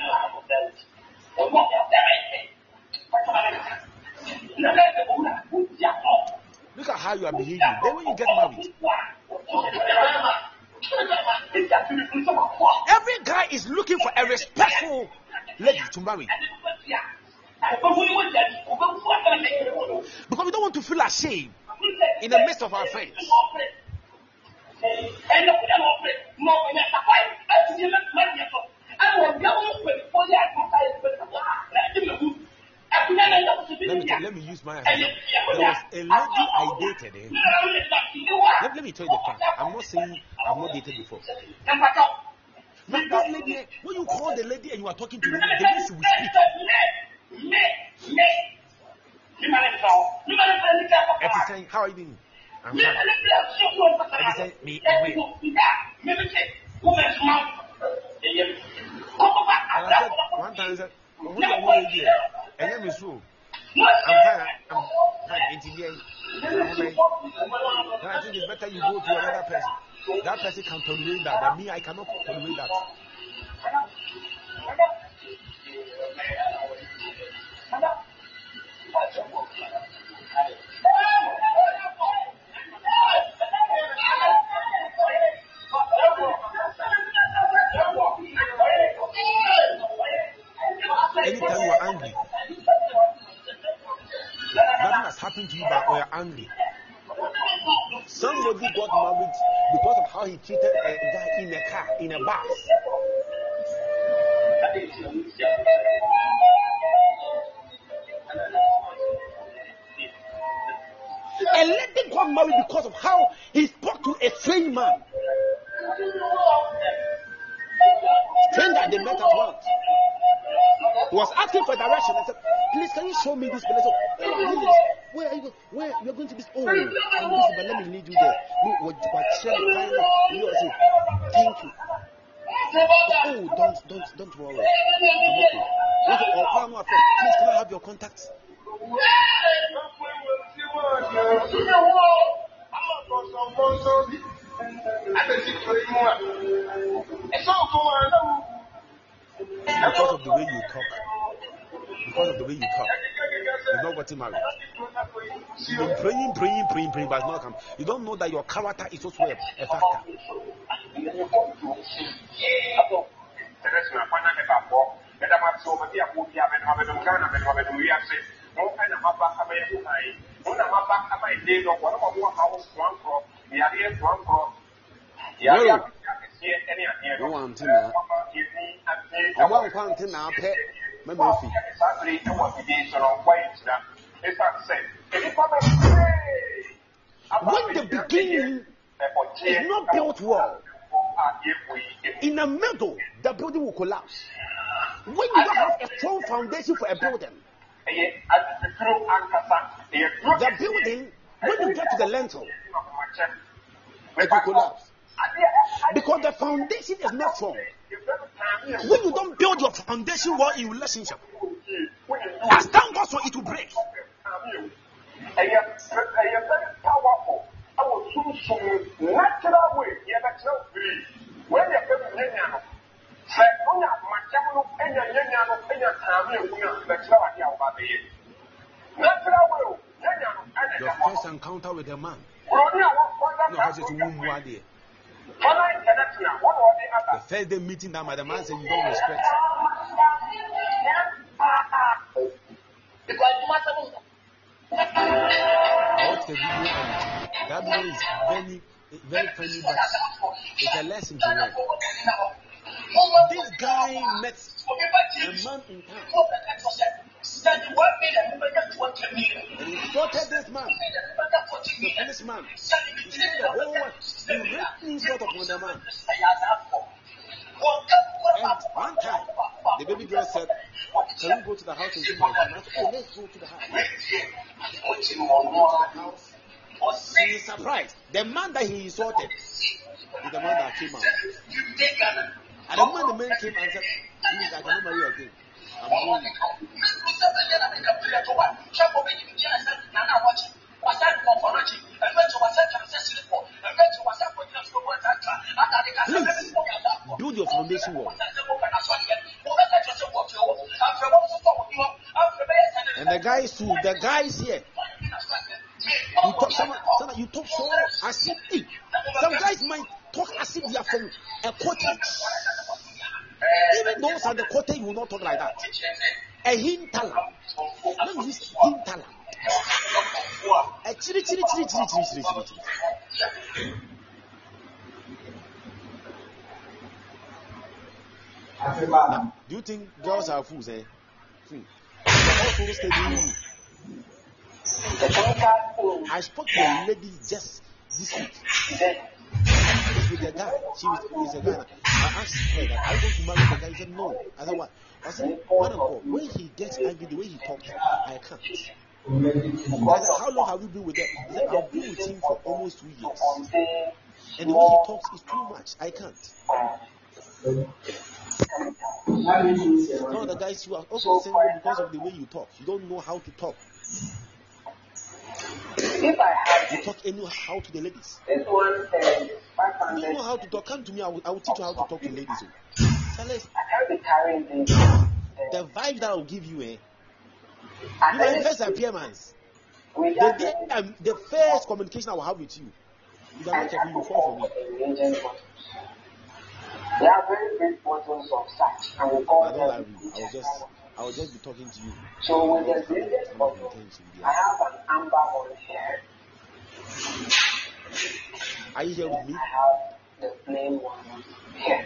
Look at how you are behaving. Then when you get married, every guy is looking for a respectful lady to marry. Because we don't want to feel ashamed in the midst of our friends. Let me, let me use my example. There was a lady I dated. Eh? Let, let me tell you the fact. I'm not saying I've not dated before. But this lady, when you call the lady and you are talking to her, the way she will speak. And she's saying, how are you doing? I'm fine. And she's saying, me, away. And I said, one time I said, oh, who's your way here? And then we saw. I'm fine. I'm fine. Engineering. I think it's better you go to another person. That person can tolerate that. But me, I cannot tolerate that. Anytime you are angry, nothing has happened to you, but you are angry. Somebody got married because of how he treated a guy in a car, in a bus. A lady got married because of how he spoke to a strange man. Stranger they met at once. He was asking for direction. I said, please, can you show me this place? Oh, where are you going? Where you're going to be? Oh, I'm busy, but let me lead you there. Me, what, what, share the time. You know, say, thank you. Oh, don't, don't, don't worry. I'm okay. Okay, oh, call my friend. Please, can I have your contacts? Because of the way you talk, because of the way you talk, you're not getting married. You've been praying, praying, praying, praying, but it's not come. You don't know that your character is also a, a factor. Well, no one to know. I want one to know. Pet, my movie. When the beginning is not built well, in the middle, the building will collapse. When you don't have a strong foundation for a building, the building, when you get to the lintel, it will collapse. Because the foundation is not strong. When you don't build your foundation well in relationship, as time goes on, it will break. Your first encounter with a man, no, has it womb one day. The first day meeting that the man said you don't respect. I watched the video and that video is very, very funny, but it's a lesson to learn. This guy met a man in town. And he spotted this man, the policeman. He said the whole world, he raped me sort of on the man. And one time, the baby girl said, can we go to the house and see my son? I said, oh, let's go to the house. We went to the house. He is surprised. The man that he insulted is the man that came out. And the moment the man came and said, please, I cannot marry you again. I'm going. Please, build your foundation wall. And the guys too, the guys here. You talk, some, some, you talk so as if some guys might talk as if they are from a cottage. Even those at the cottage will not talk like that. A hinterland. Let me use hinterland. A chiri chiri chiri chiri chiri chiri chiri. Now, do you think girls are fools, eh? Hmm. Also studying. I spoke to a lady just this week. With a guy. She was with a guy. I asked her that I want to marry the guy. He said no. I said what? I said, man of God, when he gets angry, the way he talks, I can't. I said, how long have you been with him? He said, I've been with him for almost two years. And the way he talks is too much. I can't. No, the guys you are also single because of the way you talk. You don't know how to talk. You talk anyhow to the ladies. You don't know how to talk. Come to me, I will, I will teach you how to talk to ladies. Tell us, the vibe that I will give you, eh? You my first appearance. The day, um, the first communication I will have with you, you don't want you fall for me. There are very big bottles of such, and we call I don't them. like you. I will just, I will just be talking to you. So with the brilliant bottle, I have an amber one here. Are you here with me? I have the plain one here.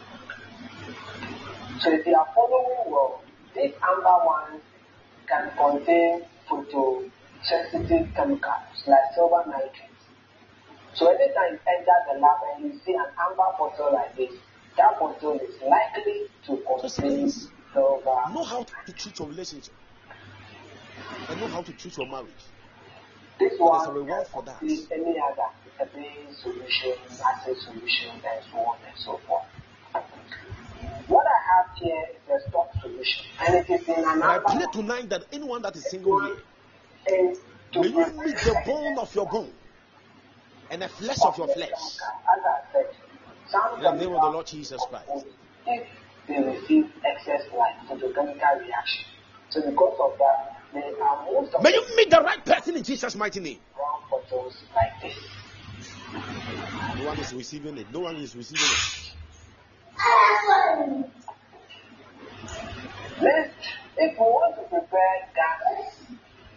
So if you are following well, these amber ones can contain photosensitive chemicals like silver nitrate. So anytime you enter the lab and you see an amber bottle like this, that bottle is likely to contain silver. Know how to treat your relationship and know how to treat your marriage. This There's one a reward for that. is any other vitamin solution, acid solution, and so on and so forth. What I have here is a stock solution, and it is in an I amber. pray tonight that anyone that is single here, is to may you protect meet the bone of your bone and the flesh of your flesh. As I said, some In the name of the Lord Jesus Christ. if they receive excess light, photochemical reaction. So because of that, they are most of May you meet the right person in Jesus' mighty name. brown bottles like this. No one is receiving it. No one is receiving it. Next, if we want to prepare gases,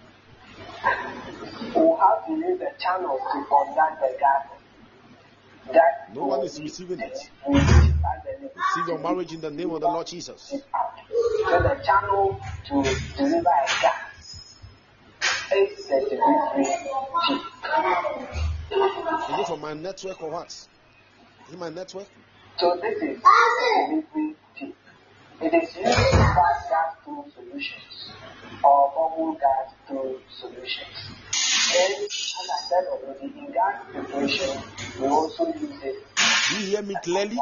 we have to use the channel to conduct the gases. That No one is receiving it. will be at the Receive your marriage in the name of the Lord Jesus. out. So the channel to deliver a gas is the delivery chip. Is it from my network or what? Is it my network? So this is the delivery chip. It is used to pass gas through solutions or bubble gas through solutions. And as I said already, in gas preparation, we also use it. Do you hear me clearly?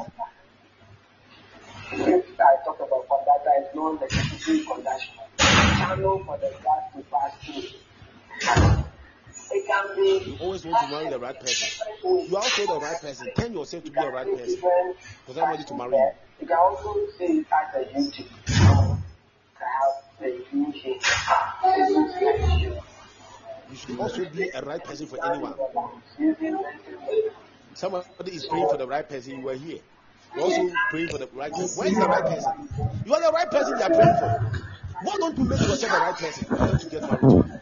If I talk about conductor, it's known as electricity conduction. Channel for the gas to pass through. It can be. You always want to marry the right person. You are also the right person. Turn yourself to be a right person. Because I'm ready to marry you. You can also see it as a YouTube. I have the U here. It looks like you. You should also be a right person for anyone. Using mental Somebody is praying for the right person. You are here. You're also praying for the right person. Where is the right person? You are the right person they are praying for. Why don't you make yourself the right person? Why don't you get married?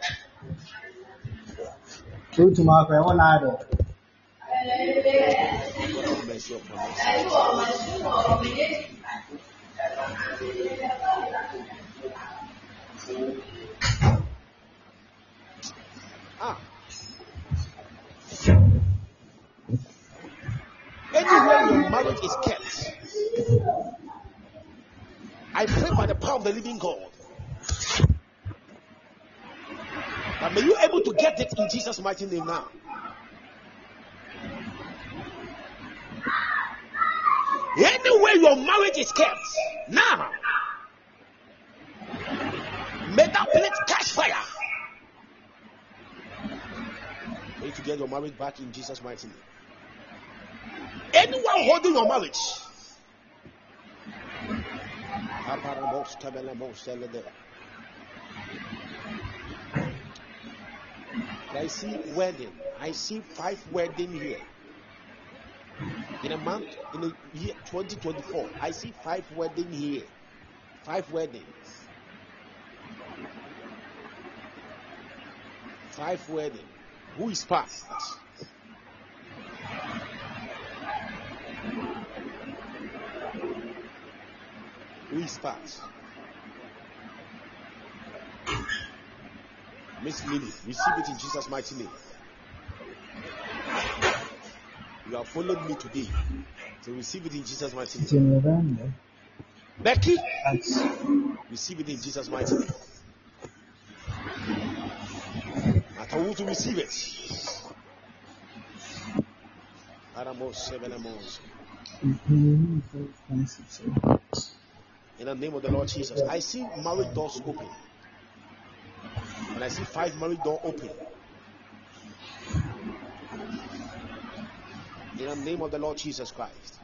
True to my friend, one idol. God have mercy upon us. Ah. Anywhere your marriage is kept, I pray by the power of the living God that may you able to get it in Jesus' mighty name now. Anywhere your marriage is kept, now may that place catch fire. May you get your marriage back in Jesus' mighty name. Anyone holding your marriage, I see wedding. I see five wedding here. In a month, in the year twenty twenty-four, I see five wedding here. Five weddings. Five wedding. Who is past? Who is past? Miss Lily, receive it in Jesus' mighty name. You have followed me today, so receive it in Jesus' mighty name. Becky, receive it in Jesus' mighty name. I told you to receive it. In the name of the Lord Jesus, I see marriage doors open. And I see five marriage doors open. In the name of the Lord Jesus Christ.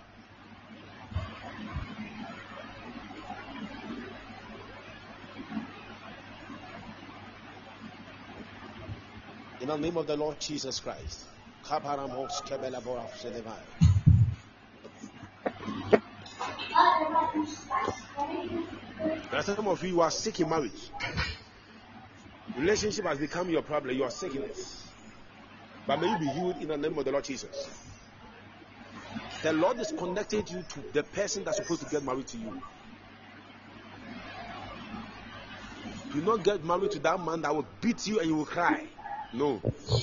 In the name of the Lord Jesus Christ. There are some of you who are sick in marriage. Relationship has become your problem. You are sick in it. But may you be healed in the name of the Lord Jesus. The Lord is connecting you to the person that's supposed to get married to you. Do not get married to that man that will beat you and you will cry. No.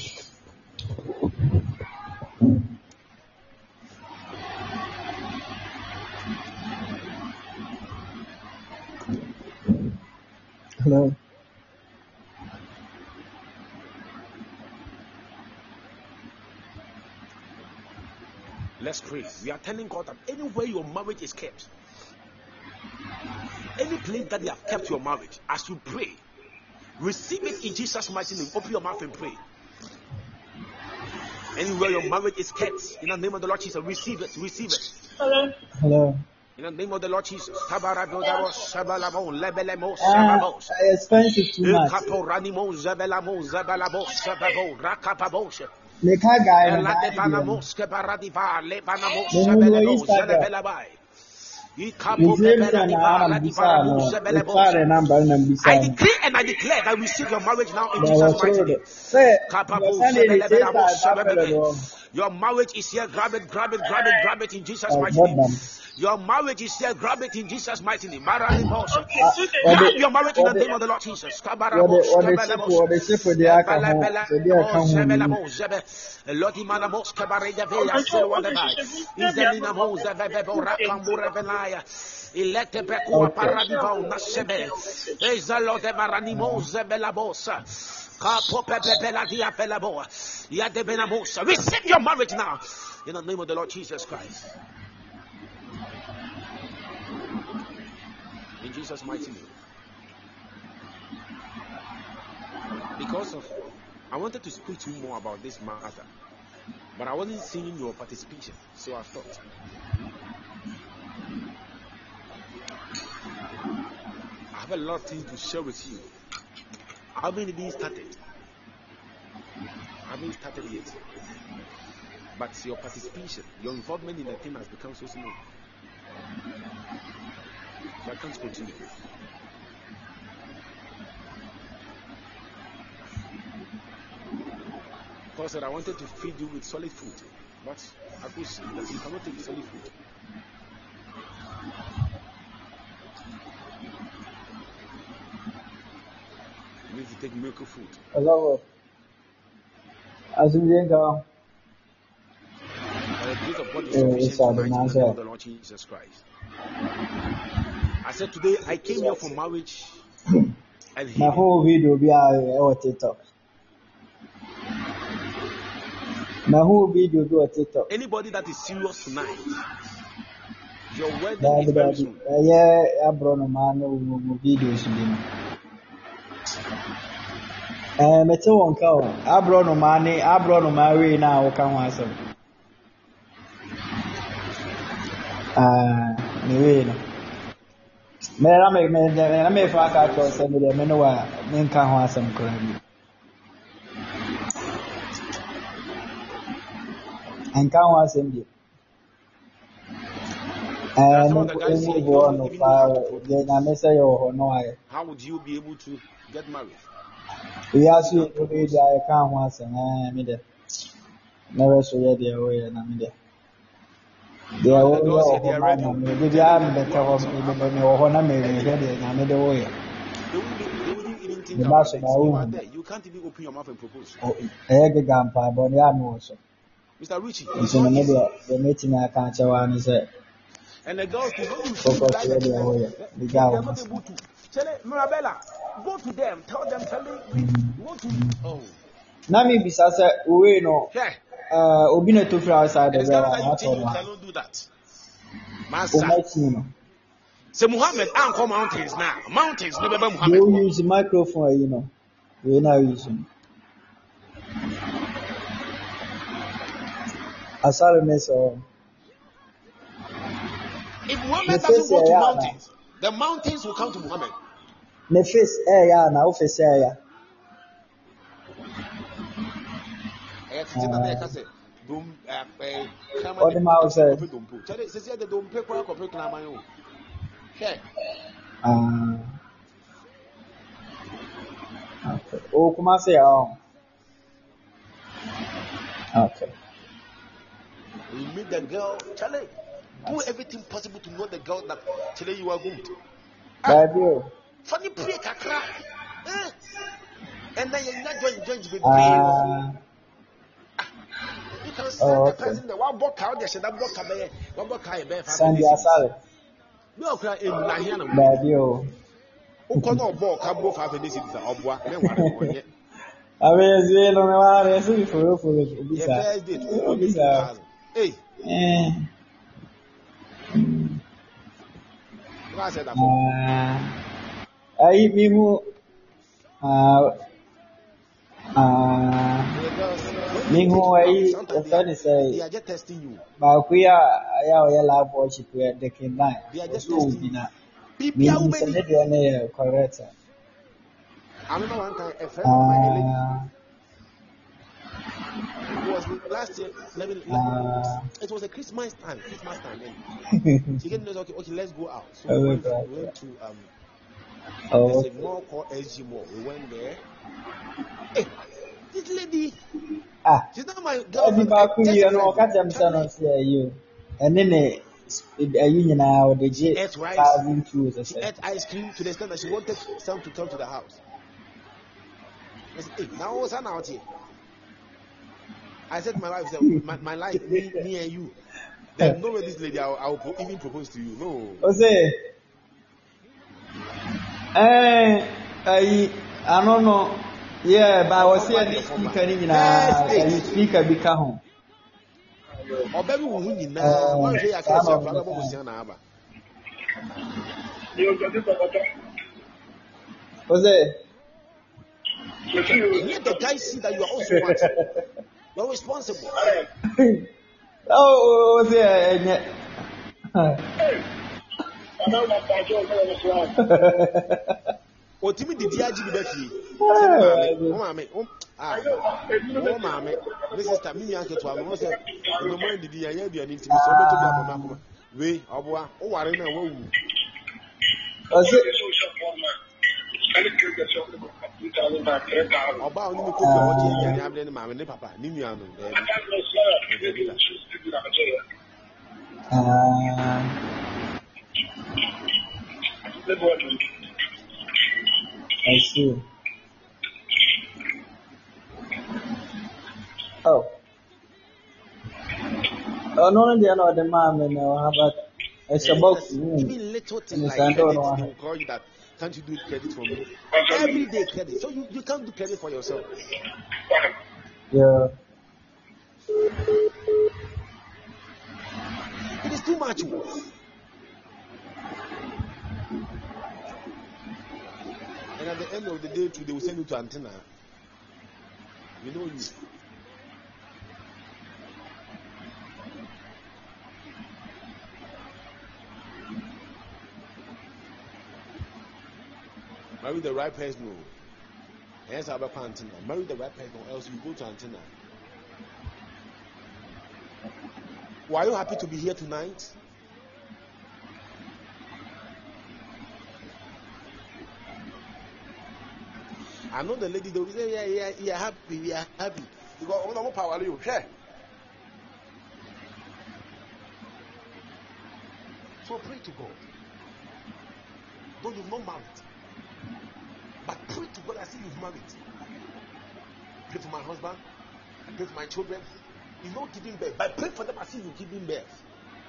Hello. Let's pray. We are telling God that anywhere your marriage is kept, any place that they have kept your marriage, as you pray, receive it in Jesus' mighty name. Open your mouth and pray. Anywhere your marriage is kept, in the name of the Lord Jesus, receive it, receive it. Hello. Hello. In the name of the Lord Jesus. Ah, expensive too much. The car guy. I decree and I declare that we receive your marriage now in Jesus' mighty name. Your marriage is here. Grab it, grab it, grab it, grab it in Jesus' mighty name. Your marriage is here. Grab it in Jesus' mighty name. Grab your marriage in the name of the Lord Jesus. Ilete bekua paradiva unasebe. Ezalo de maranimo zebelabosa. Kapo pepepela dia felaboa. Yade benamosa. Receive your marriage now. In the name of the Lord Jesus Christ. In Jesus' mighty name. Because of, I wanted to speak to you more about this matter, but I wasn't seeing your participation, so I thought. I have a lot of things to share with you. I haven't even started. I haven't started yet. but your participation, your involvement in the thing has become so small. So I can't continue. Because I wanted to feed you with solid food, but I could see that you cannot take solid food. You need to take milk food. Hello. As you go. By the grace of God is Yeah, sufficient it's tonight all the in the answer. name of the Lord Jesus Christ. I said today I came here for marriage and My healing. whole video be on TikTok. My whole video be on TikTok. Anybody that is serious tonight, your wedding Daddy, is very daddy. soon. Uh, yeah, I brought no man no no videos in them. Eh, me tell one cow. I brought no money. I brought no money now. I can't answer. Ah, me way no. Me na me me na me fa ka to say me me no wa me nka ho asem kora bi. Nka ho asem bi. There are Eh, some no of the guys here, emu you bo don't no even know how pa to je propose. na me say yo ho no aye. How would you be able to get married? We You ask you can't to be propose. there. I can't ho asem. Eh, me de. Never so ye there we na me de. They are Some of the all girls here, they over are man. ready. Me They'll be be am telling you, better go of out, me Abba. me ho na me Hey, me de na me de we. they wouldn't, be, they wouldn't even think The about bass it. na You are wo. there. You can't even open your mouth and propose. Eh ge gampa bo ya no so. Mister Richie, it's Nti not me easy. de the meeting I can't tell one say And the girls, too, when you say you focus like here the thing, there eh, we. they, The they guy they are not was. able to. Charlie, Mirabella, go to them. Tell them, Charlie, we want to. Oh, Na me bisa say we no yeah. uh obi na to free outside It the is bell Ghana that and you what think on you one. cannot do that. O Master. my team no. Say Muhammad, Uncle Mountains now. Mountains, no, Baba They Muhammad. will use microphone, you know. We now using. Asare me so. If Ne Muhammad face doesn't go to ya na. mountains, the mountains will come to Muhammad. Ne face eh ya na o face eh ya. Eh, titi na na ka say dom eh eh krama What de the mouth say? kope dompo. Chale se se de dompe kwa kope krama yo. Hwe. Ah. Okay. O kuma say ya. Okay. You meet the girl, Chale. Do everything possible to know the girl that Chale you are good. Ah, Baby o. funny pray kakra. Eh? And then you not join join with pray. Ah. You can send Oh, the okay. person the one book out there, said that book abe, one book abe five Sandy minutes. Asare. No cry em na here na we. Baby o. Uko na obo ka bo five minutes is obwa, me ware no onye. Abezi no me wa re so iforo foro Your obisa. first date, who only two Obisa. thousand. Hey, Eh. what I said that for? Ah. Ai mi hu ah ah The girls, when mi you hu take ai it out, sometimes the they are, friend say they are just testing you. ba ku ya ya o ya lab worship ya de kin nine. They are just So testing you. bina. People Mi are ni se many. ne de na correct. I remember one time a friend of mine, a lady, Ah it was last year. Let me, let, ah. it was a Christmas time. Christmas time. And she gave me okay, okay, let's go out. So we Oh went, God. we went to um, Oh. there's a mall called S G Mall. We went there. Hey, this lady, Ah. she's not my Edi girlfriend. ba eh, ku Just yi a no ka friend. jam sa no Charlie, se you. Ene ne ayi nyina o de she je ate rice. thousand two She say. ate ice cream to the extent that she wanted some to come to the house. I said, hey, now what's out here? I said to my wife, I said, my, my life, me, me and you. There's no way this lady, I'll, I'll pro- even propose to you. No. O say eh ayi ano no yeah ba I'll wo come se back any the former. speaker ni nyina First ayi date. speaker bi ka ho. Or baby, who you know, Eh one day I sa can't see a no no. problem with Sienna. O say And yet the guy see that you are also what? You're responsible. oh o say enye. Otimi did the I G B Betty. Oh, mammy, oh, mammy, Missus Tammy, uncle to our said, no more did the idea be an intimate so much of Makuma. We, oh, oh, I don't know. About you cook what you have in my papa, Nimiano. I see. Oh. Oh, no, no, no, the mom and how about it's about even little things like credit, they will call you that. Can't you do credit for me? Every day credit. So you, you can't do credit for yourself. Yeah. It is too much. And at the end of the day, too, they will send you to antenna. You know you. Marry the right person. Hence, I have a antenna. Marry the right person, or else you go to antenna. Were you happy to be here tonight? I know the lady. They will say, "Yeah, yeah, yeah, happy, yeah, happy." Because oh, no power you share. So pray to God. Though you've not married. But pray to God as if you've married. Pray for my husband. I pray for my children. He's not giving birth. But pray for them as if you're giving birth.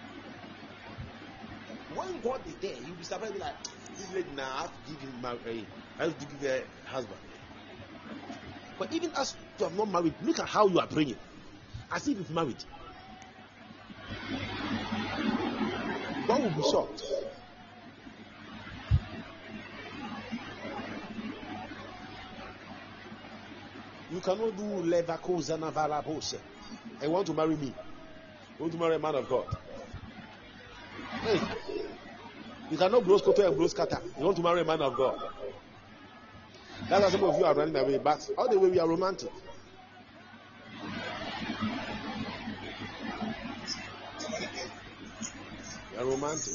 When God is there, you'll be surprised like, this lady now I have to give him marriage. I have to give her husband. But even as you have not married, look at how you are praying. As if you've married. God will be shocked. You cannot do levakozana vala bose. And want to marry me? You want to marry a man of God? Hey, you cannot blow scatter and blow scatter. You want to marry a man of God? That's why some of you are running away. But all the way we are romantic. We are romantic.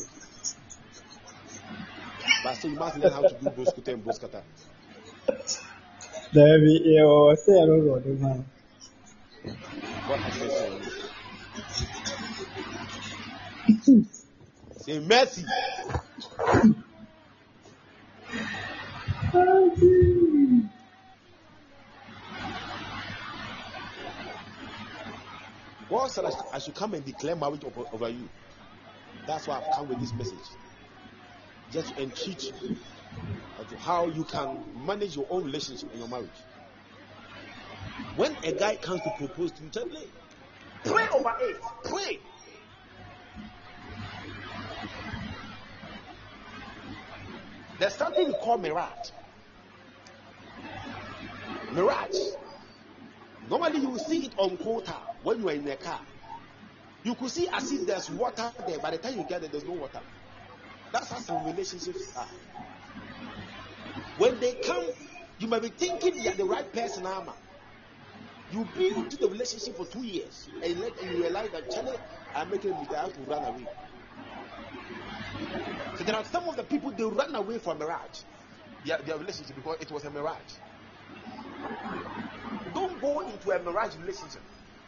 But so you must learn how to do blow scatter and blow scatter. There we go. Say I don't know the man. What has he said? Say mercy. God said I should come and declare marriage over, over you. That's why I've come with this message. Just to entreat you as to how you can manage your own relationship in your marriage. When a guy comes to propose to you, tell him, pray over it. Pray. There's something we call mirage. Mirage. Normally you will see it on quota when you are in a car. You could see as if there's water there. By the time you get there, there's no water. That's how some relationships are. When they come, you might be thinking you're the right person, Ama. You be into the relationship for two years and you, let, and you realize that Charlie, I'm making a mistake to run away. So there are some of the people, they run away from mirage, their, their relationship, because it was a mirage. Don't go into a mirage relationship.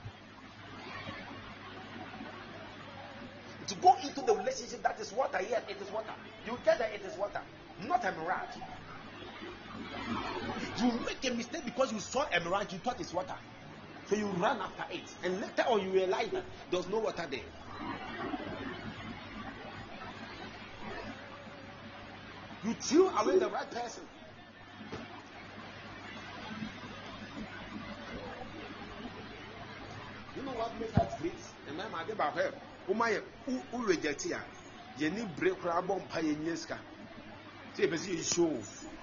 To go into the relationship that is water, yes, it is water. You get that it is water, not a mirage. You make a mistake because you saw a mirage, you thought it's water. So you run after it. And later on you realize that there's no water there. You threw away the right person. You know what makes us great? And I'm at about her. Oh my, who reject here? You need break crab on pioneerska. See if you show.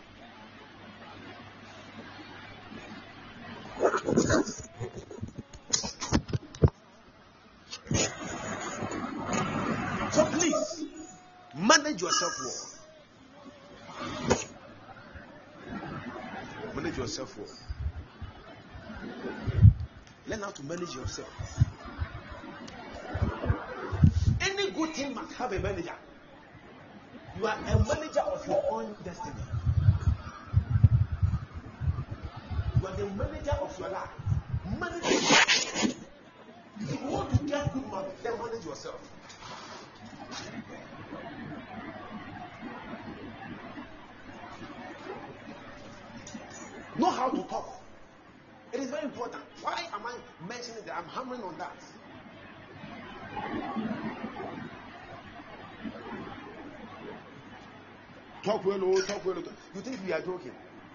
So please manage yourself well. Manage yourself well. Learn how to manage yourself. Any good thing must have a manager. You are a manager of your own destiny. You are the manager of your life. Manage yourself. If you want to get good money, then manage yourself. Know how to talk. It is very important. Why am I mentioning that? I'm hammering on that. Talk well, oh, talk well. You think we are joking?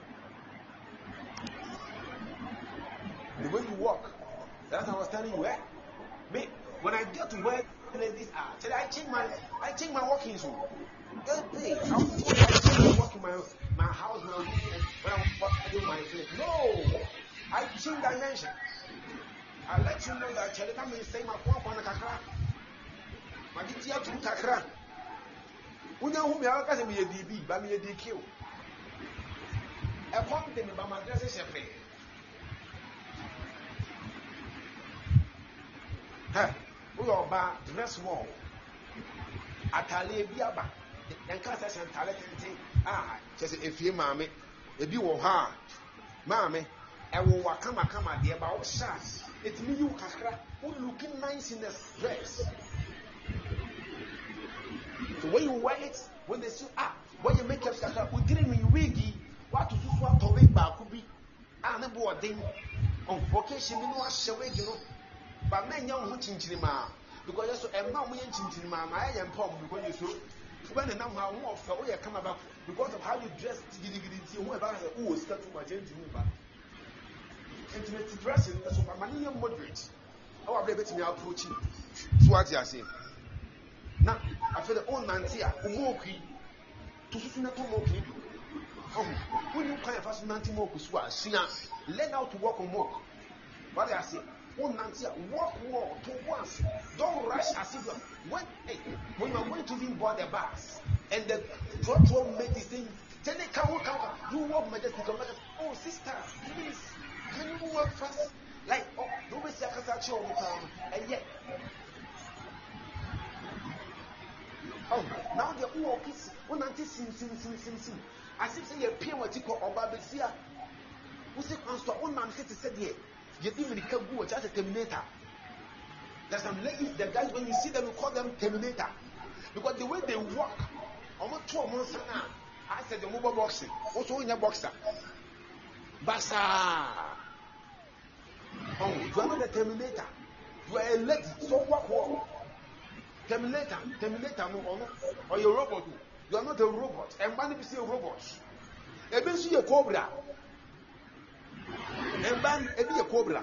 The way you walk, that's what I was telling you. Eh? Me, when I get to where ladies are, I change my, I change my walking so. Hey, I walk in my, my house, my room, when I'm doing my place. No, I change dimension. I let you know that Charlie come and say my phone on a kakra. My D T to kakra. We know who me are because me a D B, but me a D Q. A pump them by my dress is a pay. Hey, we are bad dress small. Atale biaba. Then can't say talent ah, just if you mammy, if you were hard, mammy, I will come a come at the about shots. It's me, you kakra, who looking nice in the dress. So when you wear it, when they say, ah, when you make up kakra, we didn't mean wiggy, what to do what to make back could be. I never a thing on vocation, you know, I shall wait, you know, but men young hunting cinema because I'm not winning cinema, I am pom because you so. When the number one of the way come about because of how you dress, whoever has a who is starting my gentleman. Intimate dressing, that's what my name moderate. How are they betting approaching? So what you are saying? Now, I feel the old Nantia, Umoki, to Susunato. Oh, when you kind of fast Nantimoku Swa, Sina, learn how to walk on walk. What I say? Oh, Nantia, walk more to once. Don't rush as if when, hey, when you are going to be board the bus and the drop won't make this thing, then they can walk out. You walk majestic. Oh, sister, please, can you walk fast? Like, oh, don't be secretary all the time. And yet, oh, now they're all kids. When Nanti sim, sim, sim, sim, sim. As if they appear what you call Obabesia. Who say, Consta, one man said here. You think we can go just a terminator. There's some ladies, the guys, when you see them, you call them terminator. Because the way they walk, almost two months now, I said the mobile boxing, also in your boxer. Basa. Oh, you are not a terminator. You are a lady, so walk, walk. Terminator, terminator, no, or you're a robot. You are not a robot. And man, if you see a robot, a bit see a cobra. And ban a be a cobra.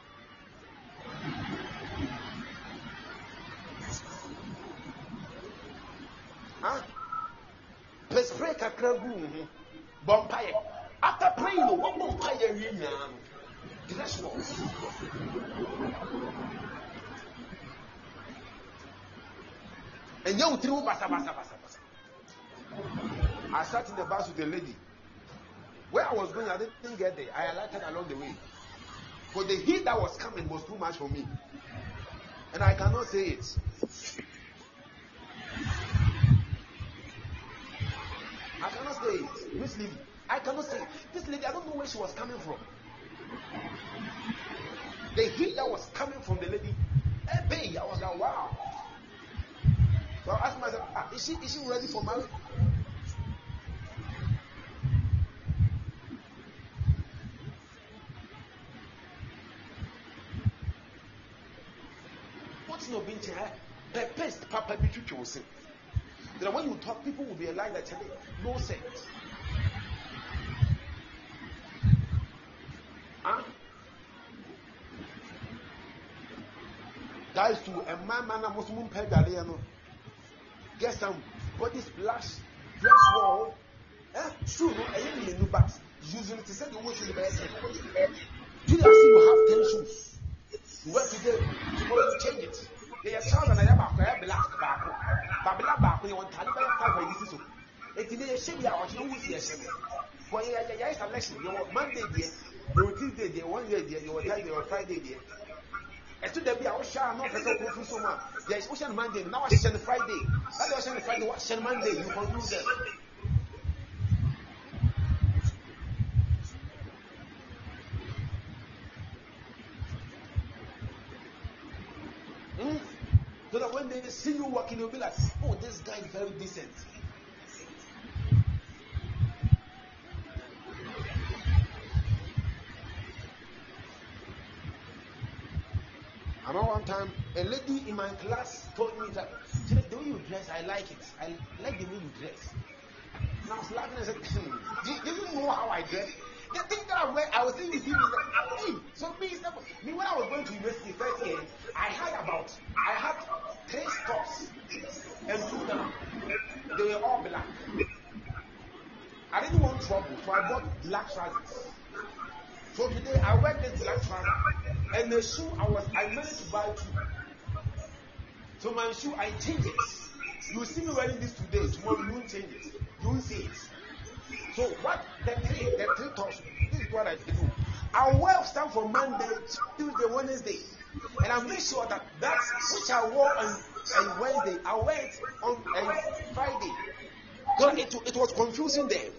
Huh? Let's pray a cragu. Bompire. After praying, what bompire in now? Dress more. And you through basa basa basa basa. I sat in the bus with a lady. Where I was going, I didn't get there. I alighted along the way. But the heat that was coming was too much for me. And I cannot say it. I cannot say it. This lady, I cannot say it. This lady, I don't know where she was coming from. The heat that was coming from the lady, hey, I was like, wow. So I asked myself, ah, is she, is she ready for marriage? No being the best papa be will say that when you talk, people will realize that no sense. Huh? Guys, to a man, man, a Muslim pedaliano. Get some body splash, dress wall. Eh, true, no, I didn't even know, but usually to say the word to the best. Do you see you have ten shoes? You work today, tomorrow you change it. They are child and I am a black back. Babla back when you want Taliban five by this. It's in a shame. I want to see a shame. Well, yeah, yeah, yeah, selection. You were Monday there, you were Tuesday there, one year there, you were Thursday, you were Friday there. And to there be our share, not person who so much. There is Ocean Monday, now I send Friday. That was Ocean Friday, what Ocean Monday, you confuse them. Mm? So that when they see you walking, they'll be like, oh, this guy is very decent. I remember one time, a lady in my class told me that, the way you dress, I like it. I like the way you dress. And I was laughing and said, do, do you know how I dress? The thing that I wear, I was thinking, is that, hey, so me, me, when I was going to university first year, I had about, I had three tops and two down. They were all black. I didn't want trouble, so I bought black trousers. So today I wear this black trouser and the shoe I was I managed to buy two. So my shoe I change it. You see me wearing this today, tomorrow you won't change it. You won't see it. So what the three the three tops, this is what I do. I wear stuff for Monday, Tuesday, Wednesday. And I make sure that that which I wore on, on Wednesday, I wear it on, on Friday. So it, it was confusing them.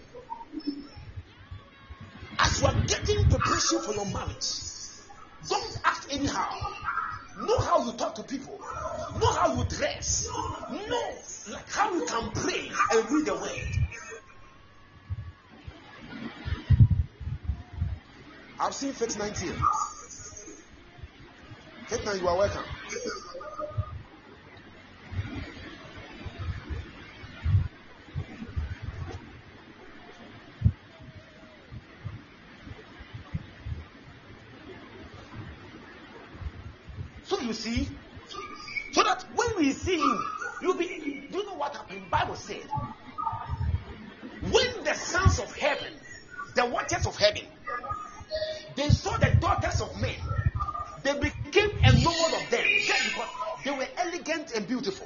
As you are getting preparation for your marriage, don't act anyhow. Know how you talk to people. Know how you dress. Know like how you can pray and read the word. I've seen Faith nineteen. Faith nine, you are welcome. So you see, so that when we see him, you'll be, do you know what happened? Bible said, when the sons of heaven, the watchers of heaven, they saw the daughters of men, they became enamored of them just because they were elegant and beautiful.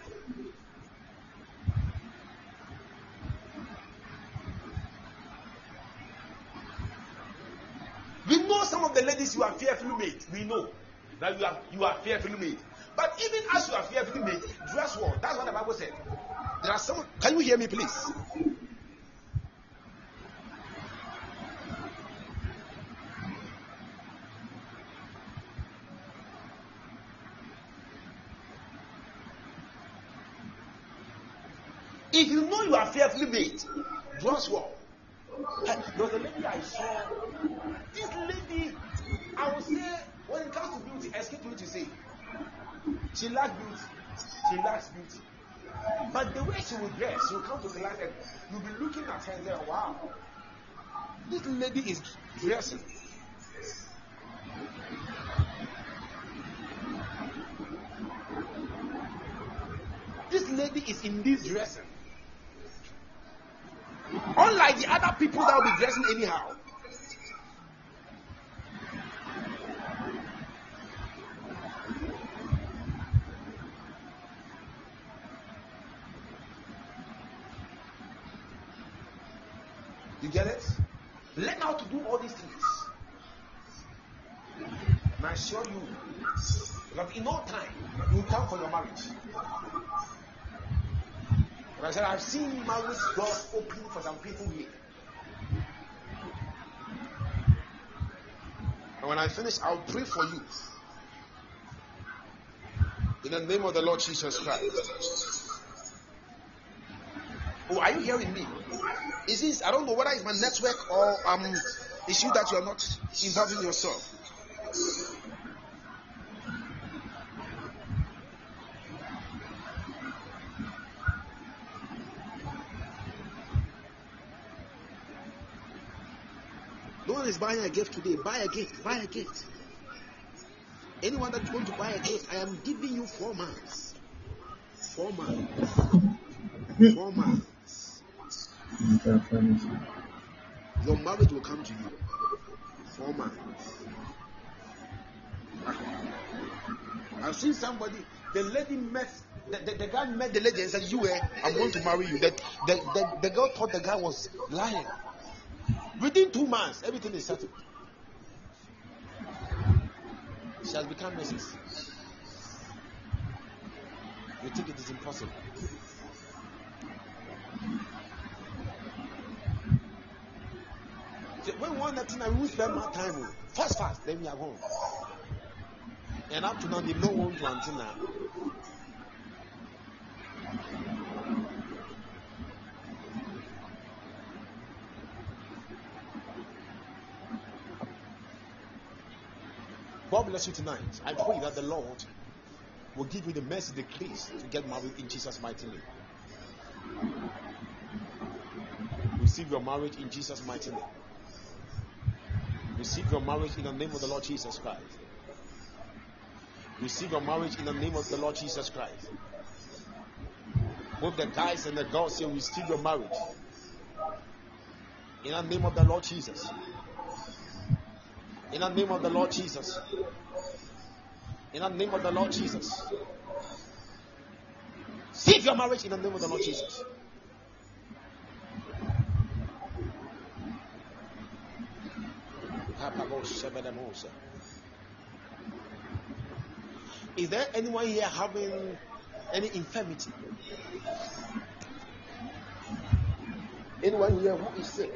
We know some of the ladies you are fearfully made. We know that you are you are fearfully made. But even as you are fearfully made, dress well. That's what the Bible said. There are some. Can you hear me, please? If you know you are fearfully made, dress well. There was a lady I saw. This lady, I would say, when it comes to beauty, excuse me to say, she lacks beauty. She lacks beauty. But the way she will dress, she will come to the light and you'll be looking at her and say, wow, this lady is dressing. This lady is indeed dressing. Unlike the other people that will be dressing anyhow. You get it? Learn how to do all these things. And I assure you that in no time you will come for your marriage. And I said, I've seen marriage doors open for some people here. And when I finish, I'll pray for you. In the name of the Lord Jesus Christ. Oh, are you hearing me? Is this, I don't know whether it's my network or um issue that you are not involving yourself. No one is buying a gift today. Buy a gift. Buy a gift. Anyone that's going to buy a gift, I am giving you four months. Four months. Four months. Your marriage will come to you. Four months. I've seen somebody, the lady met, the, the, the guy met the lady and said, you were, I'm going to marry you. The, the, the, the girl thought the guy was lying. Within two months, everything is settled. She has become Missus You think it is impossible? So when we want that thing, I will spend more time. Fast, fast, then we are home. And up to now, they don't want to until now. God bless you tonight. I pray that the Lord will give you the mercy, the grace to get married in Jesus' mighty name. Receive your marriage in Jesus' mighty name. Receive your marriage in the name of the Lord Jesus Christ. Receive your marriage in the name of the Lord Jesus Christ. Both the guys and the girls say, receive your marriage in the name of the Lord Jesus. In the name of the Lord Jesus. In the name of the Lord Jesus. Save your marriage in the name of the Lord Jesus. Is there anyone here having any infirmity? Anyone here who is sick?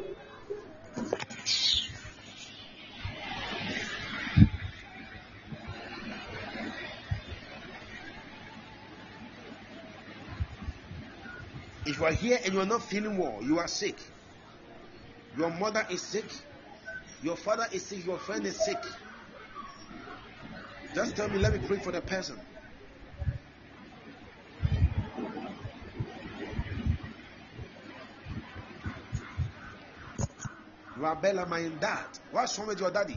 If you are here and you are not feeling well, you are sick. Your mother is sick. Your father is sick. Your friend is sick. Just tell me, let me pray for the person. You are Bella, my dad. What's wrong with your daddy?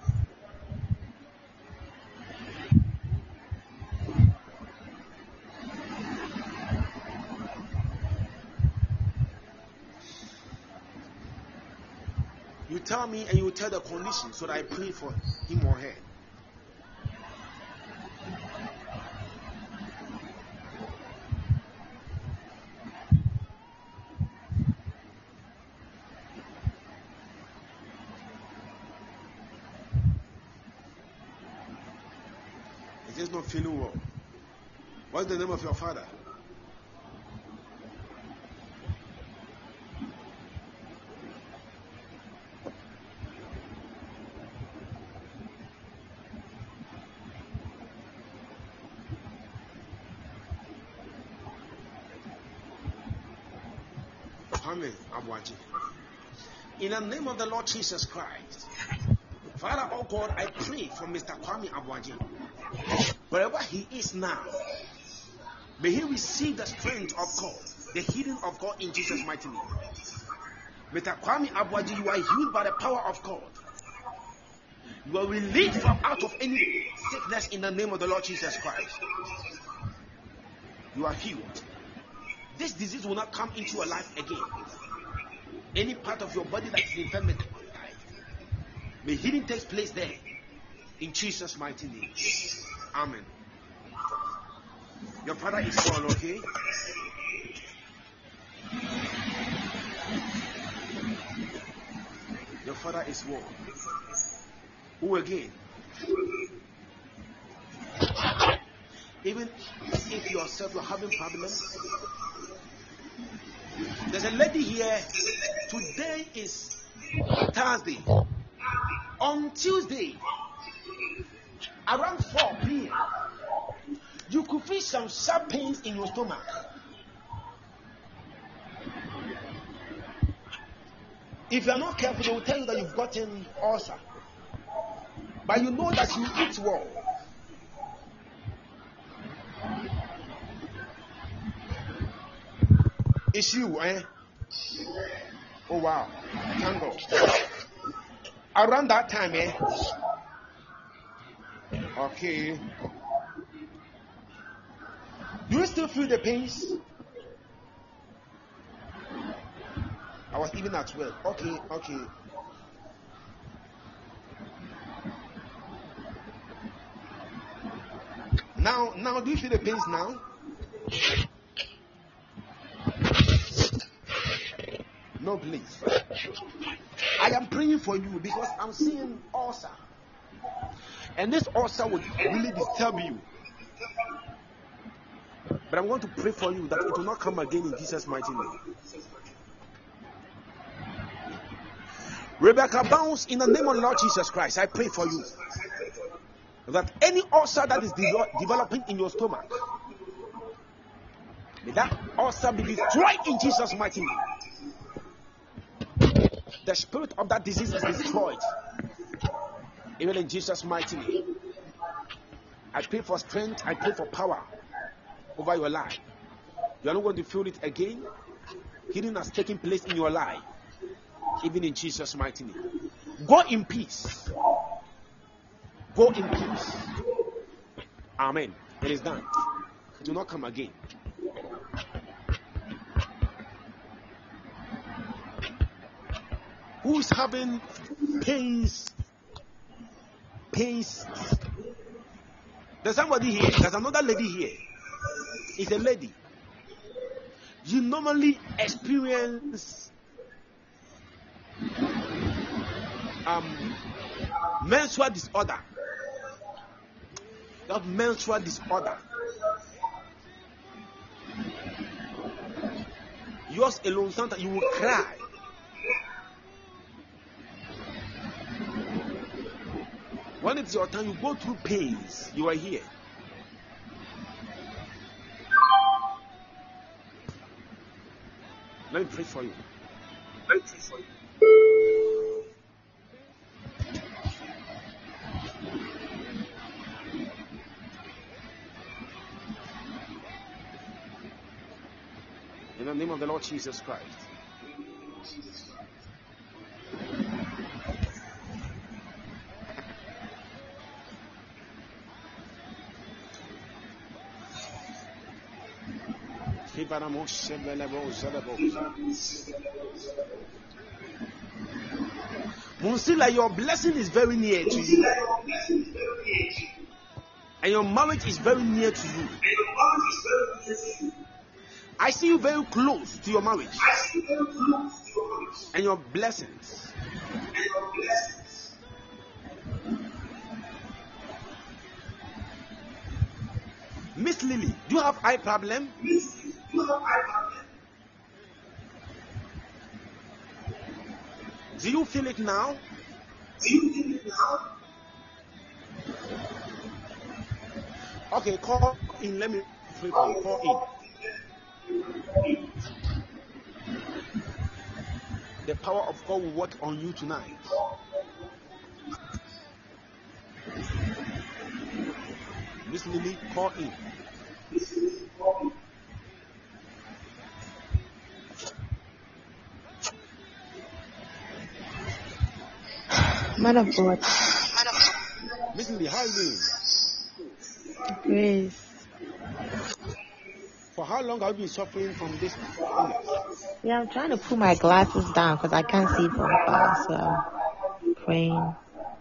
You tell me and you tell the condition so that I pray for him or her. Is this not feeling well? What's the name of your father? In the name of the Lord Jesus Christ, Father, oh God, I pray for Mister Kwame Abuaji. Wherever he is now, may he receive the strength of God, the healing of God in Jesus' mighty name. Mister Kwame Abuaji, you are healed by the power of God. You are released from out of any sickness in the name of the Lord Jesus Christ. You are healed. This disease will not come into your life again. Any part of your body that is infirm, may healing take place there. In Jesus' mighty name. Amen. Your father is well, okay? Your father is well. Who again? Even if yourself you're having problems. There's a lady here. Today is Thursday. On Tuesday, around four p.m., you could feel some sharp pains in your stomach. If you are not careful, they will tell you that you've gotten ulcer. But you know that you eat well. It's you, eh? Oh wow. Thank God. Around that time, eh? Okay. Do you still feel the pains? I was even at work. Okay, okay. Now, now, do you feel the pains now? don't believe. I am praying for you because I'm seeing ulcer. And this ulcer would really disturb you. But I'm going to pray for you that it will not come again in Jesus' mighty name. Rebecca Bounce, in the name of the Lord Jesus Christ, I pray for you that any ulcer that is de- developing in your stomach, may that ulcer be destroyed in Jesus' mighty name. The spirit of that disease is destroyed, even in Jesus' mighty name. I pray for strength, I pray for power over your life. You are not going to feel it again. Healing has taken place in your life, even in Jesus' mighty name. Go in peace. Go in peace. Amen. It is done. Do not come again. Who is having pains? Pains. There's somebody here. There's another lady here. It's a lady. You normally experience um, menstrual disorder. You have menstrual disorder. Yours alone, sometimes you will cry. When it's your time, you go through pains. You are here. Let me pray for you. Let me pray for you. In the name of the Lord Jesus Christ. Monsila, your blessing is very near to you, and your marriage is very near to you. I see you very close to your marriage and your blessings. Miss Lily, do you have eye problem? Do you feel it now? Do you feel it now? Okay, call in. Let me pray for you. Call in. The power of God will work on you tonight. Miss Lily, call in. Man of God. Miss Lily, how are you doing? Grace. For how long have you been suffering from this illness? Yeah, I'm trying to put my glasses down because I can't see from far, so I'm praying.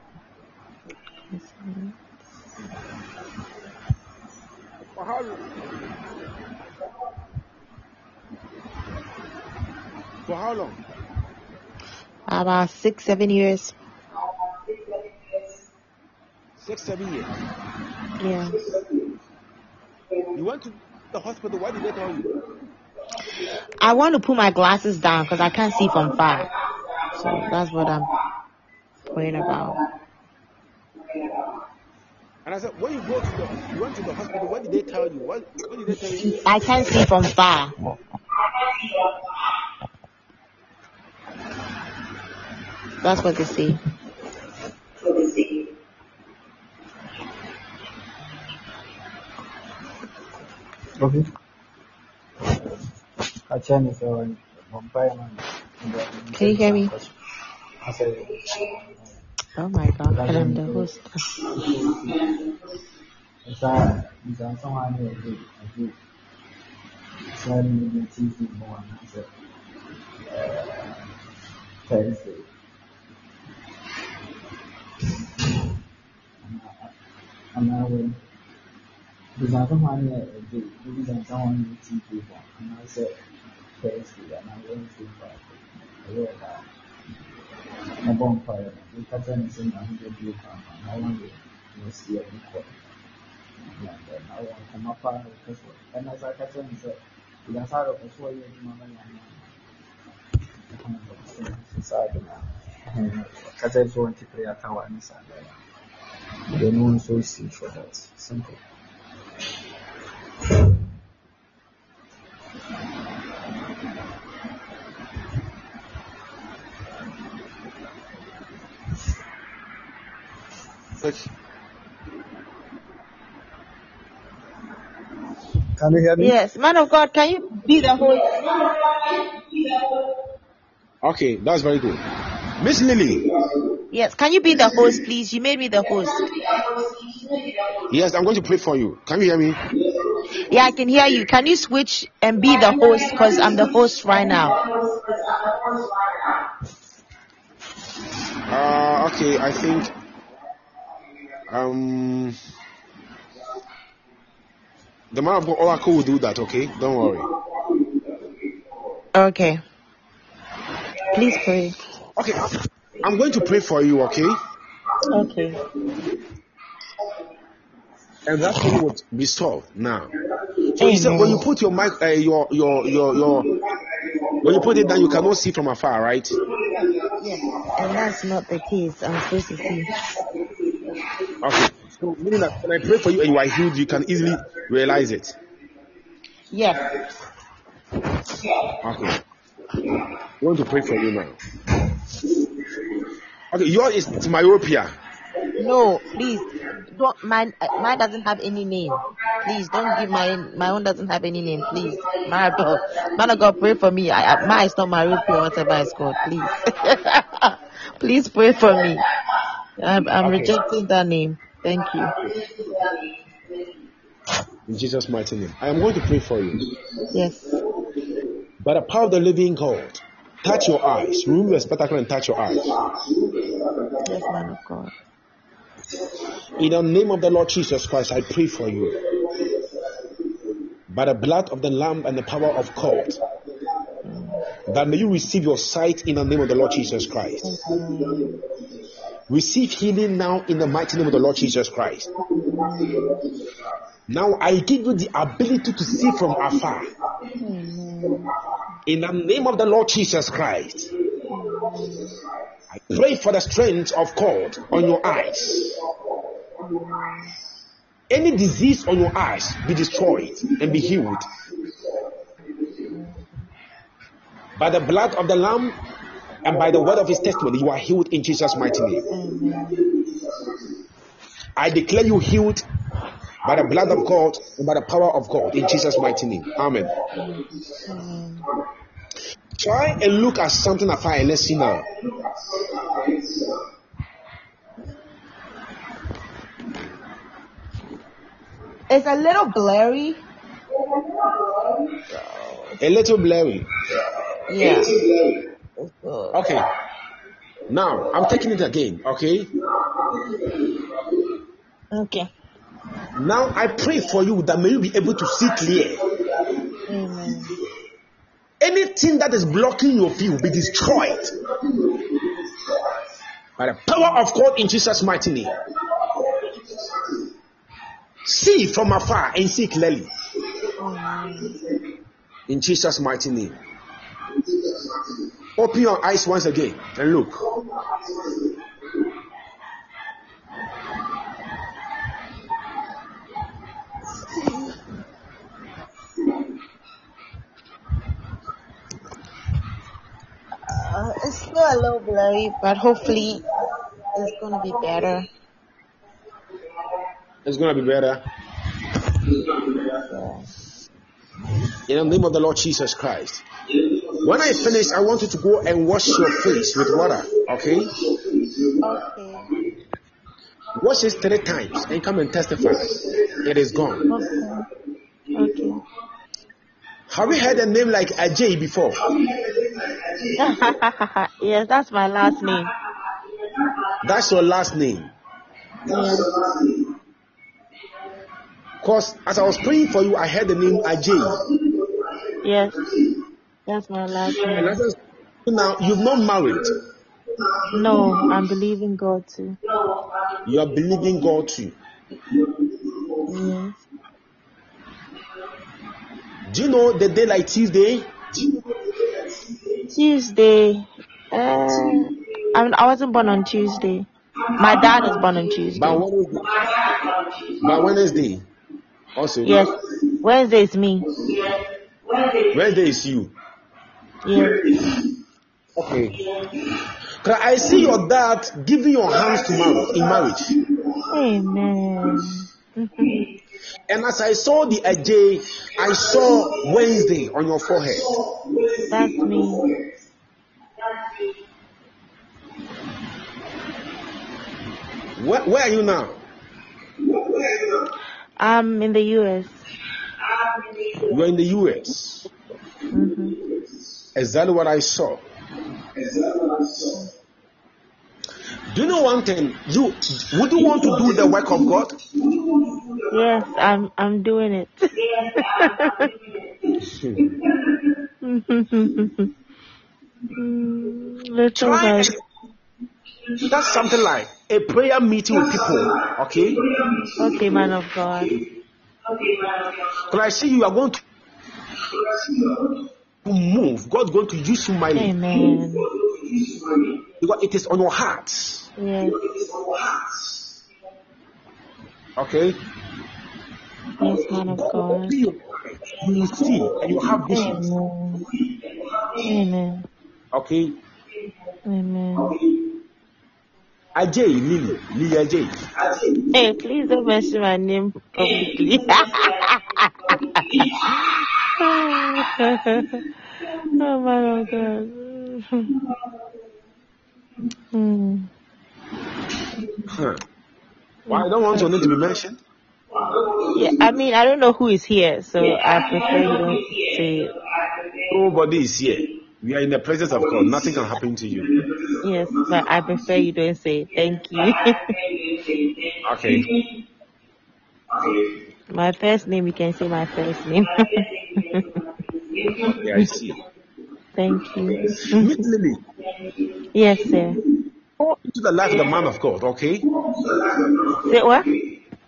For how long? For how long? About six, seven years. Six, seven years. Yeah. You went to the hospital. What did they tell you? I want to put my glasses down because I can't see from far. So that's what I'm praying about. And I said, when you go to the, you went to the hospital, what did they tell you? What, what did they tell you? I can't see from far. That's what they say. Okay. Can you hear me? I said, oh my God, I'm the host. I'm not with bisa someone do bisa someone T V and I said thanks to and I went to ɛyɛ daa mɔbɔ mpaeɛ no meka kyerɛ ne sɛ nyame bɛbie kwampa na wɔyɛ na ɔsi ani kɔ na wɔn nkɔma paa na wɔka sɛ ɛna sɛ aka kyerɛ ne sɛ yɛasa rɛkɔ so ɔyɛ adwuma no nyame saa de na ɔka kyerɛ sɛ wɔnte prayer tower ne saa dɛ they no one so see for that simple. Can you hear me? Yes, man of God, can you be the host? Okay, that's very good. Miss Lily. Yes, can you be the host, please? You made me the host. Yes, I'm going to pray for you. Can you hear me? Yeah, I can hear you. Can you switch and be the host? Because I'm the host right now. Uh, okay, I think um the man of God Oracle will do that. Okay, don't worry. Okay. Please pray. Okay, I'm going to pray for you. Okay. Okay. And that thing would be solved now. So you said when you put your mic, uh, your your your your when you put it down, you cannot see from afar, right? Yes, and that's not the case. I'm supposed to see. Okay. So meaning that when I pray for you and you are healed, you can easily realize it. Yeah. Okay. I want to pray for you now. Okay, yours is myopia. No, please. Don't mine. uh, Mine doesn't have any name. Please don't give mine. My own doesn't have any name. Please, my God, man of God, pray for me. I, I, mine is not my real or whatever it's called. Please, please pray for me. I'm, I'm Okay. rejecting that name. Thank you. In Jesus' mighty name. I am going to pray for you. Yes. By the power of the living God, touch your eyes. Remove your spectacle and touch your eyes. Yes, man of God. In the name of the Lord Jesus Christ, I pray for you. By the blood of the Lamb and the power of God, that may you receive your sight in the name of the Lord Jesus Christ. Receive healing now in the mighty name of the Lord Jesus Christ. Now I give you the ability to see from afar. In the name of the Lord Jesus Christ, I pray for the strength of God on your eyes. Any disease on your eyes be destroyed and be healed. By the blood of the Lamb and by the word of his testimony, you are healed in Jesus' mighty name. I declare you healed by the blood of God and by the power of God in Jesus' mighty name. Amen. Try and look at something afar and let's see now. It's a little blurry. A little blurry. Yeah. Okay. Now I'm taking it again. Okay. Okay. Now I pray for you that may you be able to see clear. Amen. Anything that is blocking your view be destroyed by the power of God in Jesus' mighty name. See from afar and see clearly. In Jesus' mighty name. Open your eyes once again and look. Uh, it's still a little blurry, but hopefully it's going to be better. It's going to be better. In the name of the Lord Jesus Christ. When I finish, I want you to go and wash your face with water. Okay? Okay. Wash it three times and come and testify. It is gone. Okay. Okay. Have you heard a name like Ajay before? Yes, that's my last name. That's your last name. Yes. Because as I was praying for you, I heard the name Ajay. Yes. That's my last And name. as I was Now, you've not married. No, I'm believing God too. You are believing God too. Yes. Do you know the day like Tuesday? Tuesday. Uh, I, mean, I wasn't born on Tuesday. My dad was born on Tuesday. By Wednesday. By Wednesday. Also. Yes. Wednesday is me. Wednesday is you. Yes. Okay. Cause I see your dad giving your hands to marriage in marriage. Amen. And as I saw the A J, I saw Wednesday on your forehead. That's me. Where, where are you now? I'm in the U S. You're in the U S. Mm-hmm. Exactly what I saw. Do you know one thing? You would you want to do the work of God? Yes, I'm I'm doing it. Little Try. bit. That's something like a prayer meeting with people. Okay. Okay, man of God. But I see you are going to move. God's going to use you mightily. Amen. Because it is on your heart. Yes. Okay. Yes, man of God. You will see and you have visions. Amen. Amen. Okay. Amen. Ajay, Lily, Lily Ajay. Hey, please don't mention my name publicly. Oh my God. Hmm. Huh. Why I don't want your name to be mentioned? Yeah, I mean, I don't know who is here, so I prefer you don't say it. Nobody is here. We are in the presence of God. Nothing can happen to you. Yes, but I prefer you don't say it. Thank you. Okay. My first name, you can say my first name. Okay, I see. Thank you. Meet Lily. Yes, sir. Go into the life of the man of God, okay? Say what? Do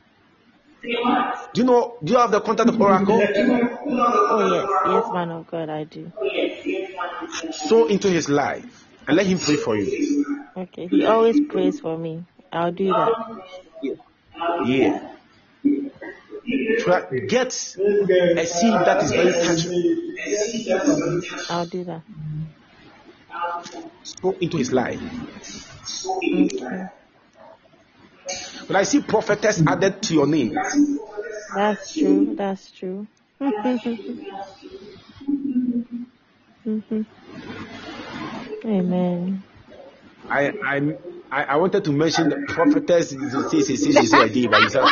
you know, do you have the contact of Oracle? Oh, yes. Yes, man of God, I do. Sow into his life and let him pray for you. Okay. He always prays for me. I'll do that. Yeah. Try, get a seed that is very touching. I'll do that. Sow into his life. Okay. But I see prophetess added to your name. That's true. That's true. Mm-hmm. Amen. I I I I wanted to mention the prophetess. Say say say say again, but you said.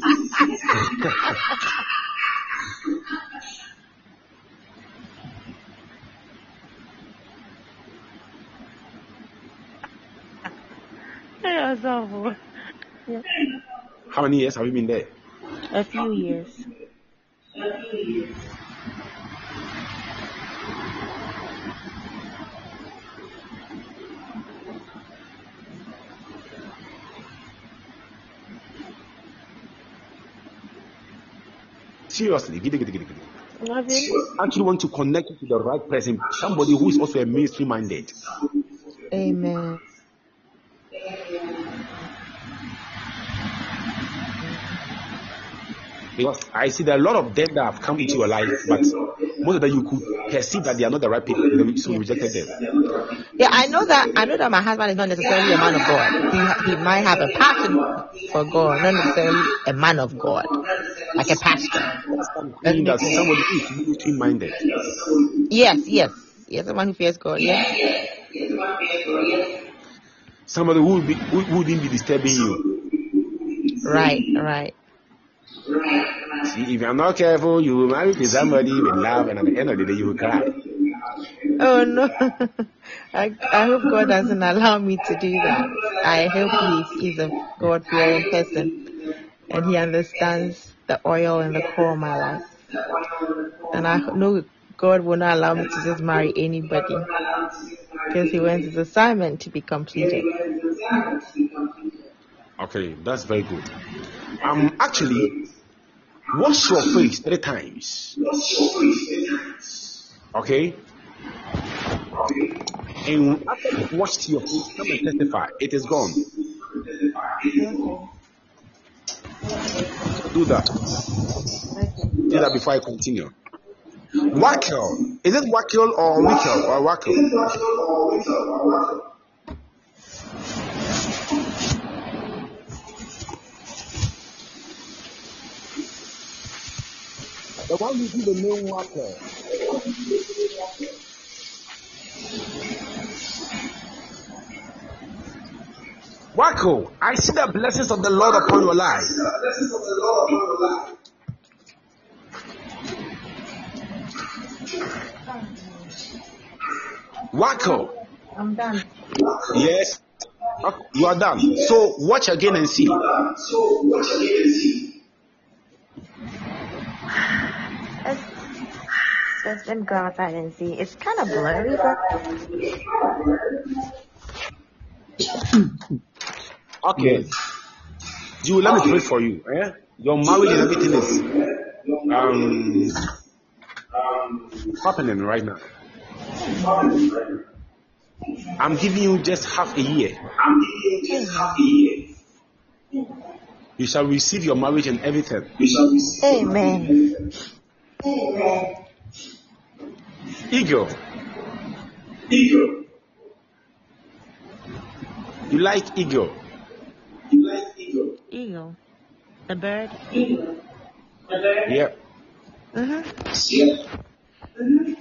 Yeah. How many years have you been there? A few years. Seriously, giddy, giddy, giddy, giddy. Love you. Actually want to connect you to the right person, somebody who is also a ministry minded. Amen. Because I see there are a lot of them that have come into your life, but most of them you could perceive that they are not the right people, so you rejected them. Yeah, I know that. I know that my husband is not necessarily a man of God. He he might have a passion for God, not necessarily a man of God, like a pastor. Meaning that somebody who is ministry minded. Yes, yes, yes, someone who fears God. Yes. Somebody who would be, who wouldn't be disturbing you. Right, right. See, if you're not careful, you will marry to somebody with love, and at the end of the day, you will cry. Oh no! I I hope God doesn't allow me to do that. I hope He is a God-fearing person, and He understands the oil and the core of my life. And I know God will not allow me to just marry anybody. because he wants his assignment to be completed. Okay, that's very good. Um, actually, wash your face three times. Okay? And after you've washed your face, come and testify. It is gone. Do that. Do that before I continue. Wackel. Is it wackel or wickel or wackel? The one who do the name wackel. Wacko, I see the blessings of the Lord upon your life. Wacko. I'm done. Yes. Okay, you are done. So watch again and see. So watch again and see. Let's, let's then go outside and see. It's kind of blurry, but Okay. You let me pray for you. Eh? Your marriage and everything is um happening right now. I'm giving you just half a year. I'm giving you just half a year. You shall receive your marriage and everything. You shall receive. Amen. Eagle. Eagle. You like eagle? You like eagle? Eagle. The bird? Eagle. The bird? Yeah. Mm-hmm. Yeah. Mm-hmm.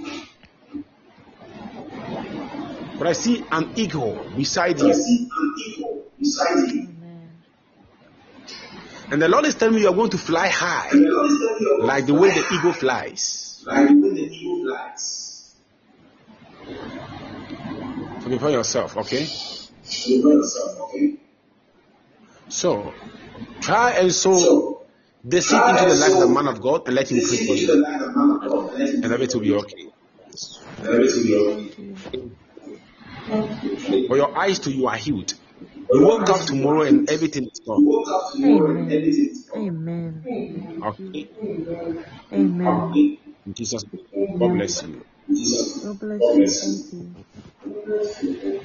But I see an eagle beside you. I see an eagle beside you. Amen. And the Lord is telling me you are going to fly high, like the way the eagle flies. Like the way the eagle flies. So prepare yourself, okay? Prepare yourself, okay? So, try and sow the seed into the life of the man of God and let him pray for you. And everything will be okay. And everything will be okay. For your eyes to you are healed. You woke up tomorrow and everything is gone. Amen. Amen. Okay. Amen. In Jesus' name. God bless you. God bless you. Thank you.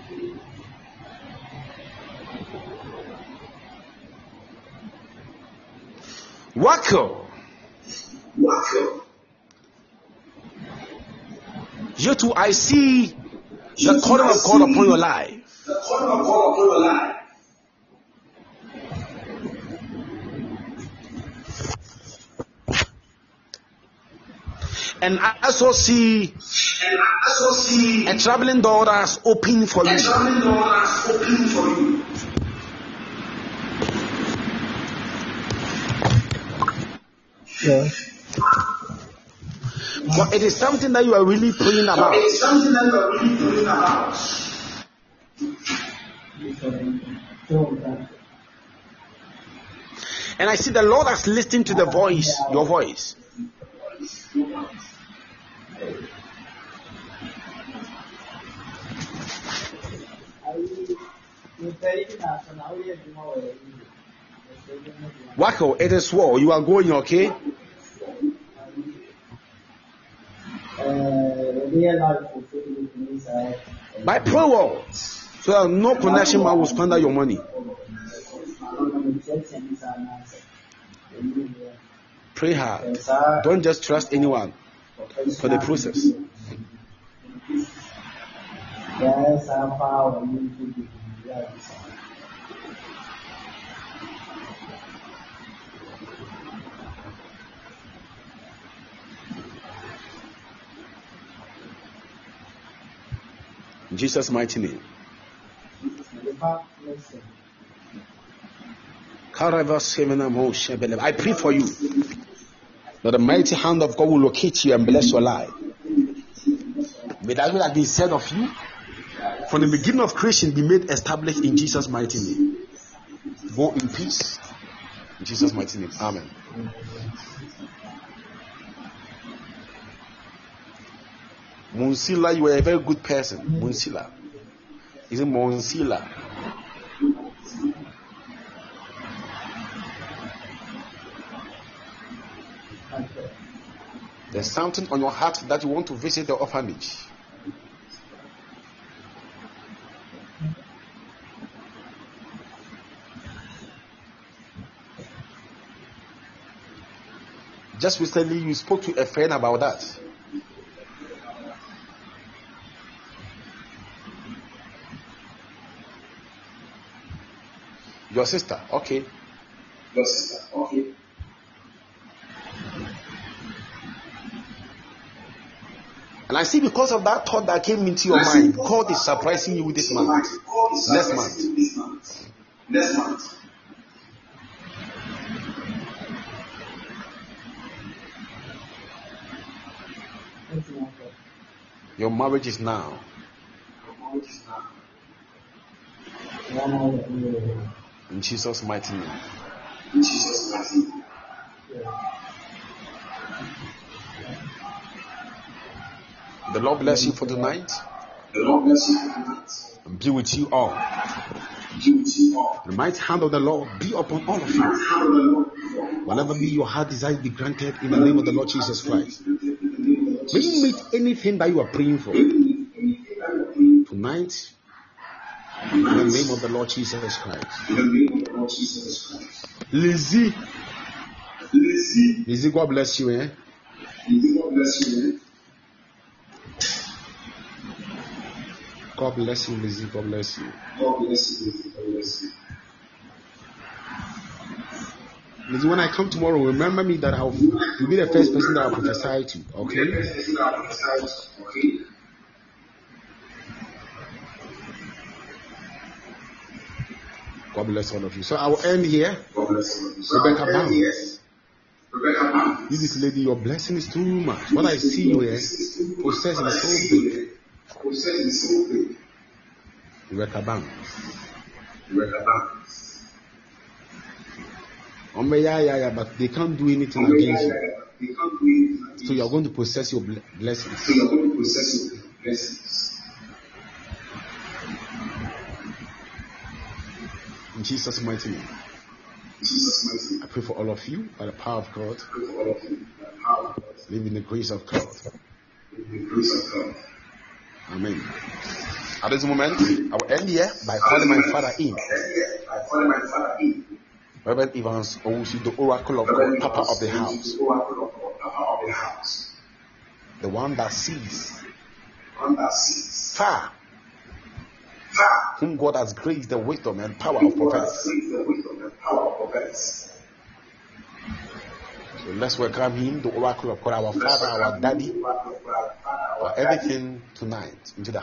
Wacko. Wacko. You too, I see the calling of God upon your life. The calling of God upon your life. And I also see, and I also see a traveling door that's open for you. A traveling door that's open for you. Yeah. But it is something that you are really praying about. It is something that you are really praying about. And I see the Lord has listened to the voice, your voice. Wacko, it is war. You are going, okay? By prayer, so that no connection man will squander your money. Pray hard. Don't just trust anyone for the process. In Jesus' mighty name. I pray for you that the mighty hand of God will locate you and bless your life. May that which has been said of you from the beginning of creation be made established in Jesus' mighty name. Go in peace. In Jesus' mighty name. Amen. Munsila, you are a very good person. Munsila. Is it Monsila? There's something on your heart that you want to visit the orphanage. Just recently, you spoke to a friend about that. Your sister, okay. Your sister, okay. And I see because of that thought that came into your mind, God is surprising you with this month. Next month. Next month. Your marriage is now. In Jesus' mighty name. In Jesus' mighty name. The Lord bless you for tonight. The Lord bless you for tonight. And be with you all. Be with you all. The mighty hand of the Lord be upon all of you. Whatever be your heart desire be granted in the name of the Lord Jesus Christ. May you meet anything that you are praying for tonight. In the name of the Lord Jesus Christ. In the name of the Lord Jesus Christ. Lizzie. Lizzie. Lizzie, God bless you, eh? Lizzie, God bless you, eh? God bless you, Lizzie. God bless you. God bless you, Lizzie. God bless you. Lizzie, when I come tomorrow, remember me that I'll you'll be the first person that I'll prophesy to, okay? Okay. God bless all of you. So I will end here. God bless all of you. So Rebecca Bam. Rebecca Bam. This lady, your blessing is too much. What I see you here, possession is so big. Possession is so big. Rebecca Bam. Rebecca Bam. Um, yeah, yeah, yeah, but they can't do anything against you. So you are going to possess your blessings. So you are going to possess your blessings. In Jesus' mighty name. Jesus' mighty name. I pray for all of you by the power of God. I pray for all of you by the power of God. Live in the grace of God. Live in the grace of God. Amen. At this moment, I will end here by calling my father in. By calling my father in. Reverend Evans Owusu, the oracle of God, Papa of the house. The one that sees. Far. Whom God has graced the wisdom and power of prophets. So let's welcome him, the oracle of God, our father, our daddy, our everything tonight into the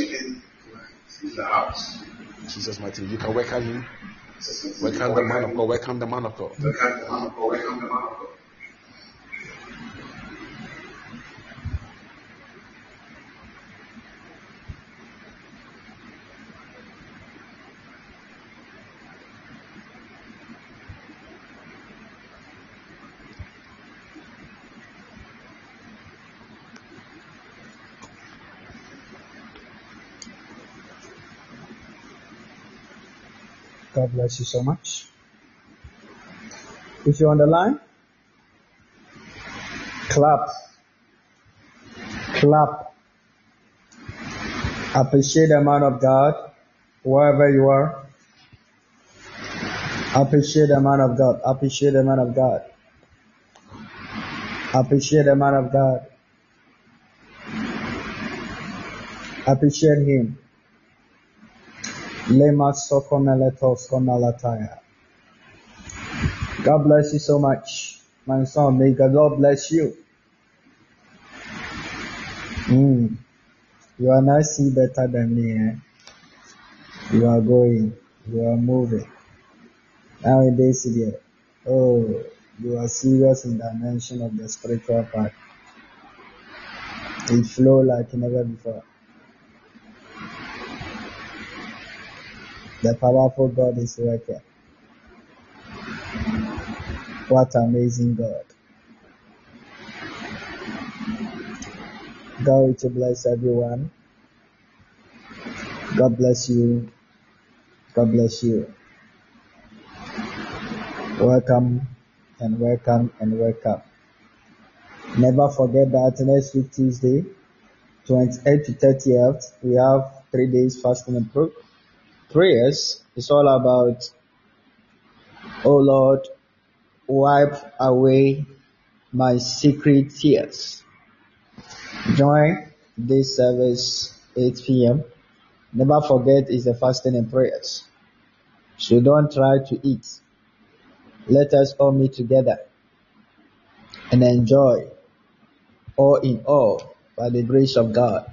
house. Jesus' mighty name. You can welcome him. Welcome the man of God. Welcome the man of God. Welcome the man of God. Welcome the man of God. God bless you so much. If you're on the line, clap. Clap. Appreciate the man of God, wherever you are. Appreciate the man of God. Appreciate the man of God. Appreciate the man of God. Appreciate him. Lema Sokomeletos Komalataya. God bless you so much, my son. May the Lord bless you. Mm. You are not see better than me. Eh? You are going. You are moving. Nowadays, dear. Oh, you are serious in the dimension of the spiritual part. It flow like never before. The powerful God is working. What amazing God. God will bless everyone. God bless you. God bless you. Welcome and welcome and welcome. Never forget that next week Tuesday, twenty-eighth to thirtieth, we have three days fasting and pr- prayers. It's all about, oh Lord, wipe away my secret tears. Join this service eight p.m. Never forget it's the fasting and prayers. So don't try to eat. Let us all meet together and enjoy all in all by the grace of God.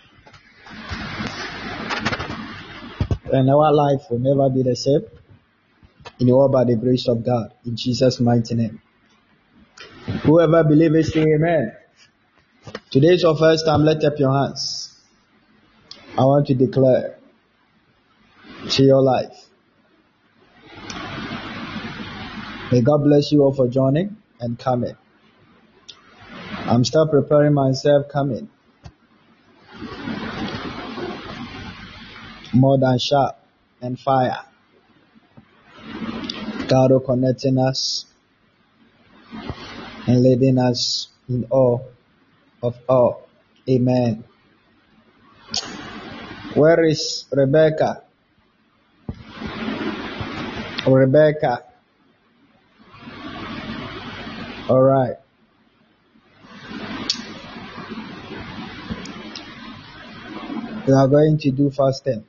And our life will never be the same in all by the grace of God. In Jesus' mighty name. Whoever believes, say amen. Today is your first time. Lift up your hands. I want to declare to your life. May God bless you all for joining and coming. I'm still preparing myself coming. More than sharp and fire. God will connecting us and leading us in all of all. Amen. Where is Rebecca? Rebecca. All right. We are going to do fasting.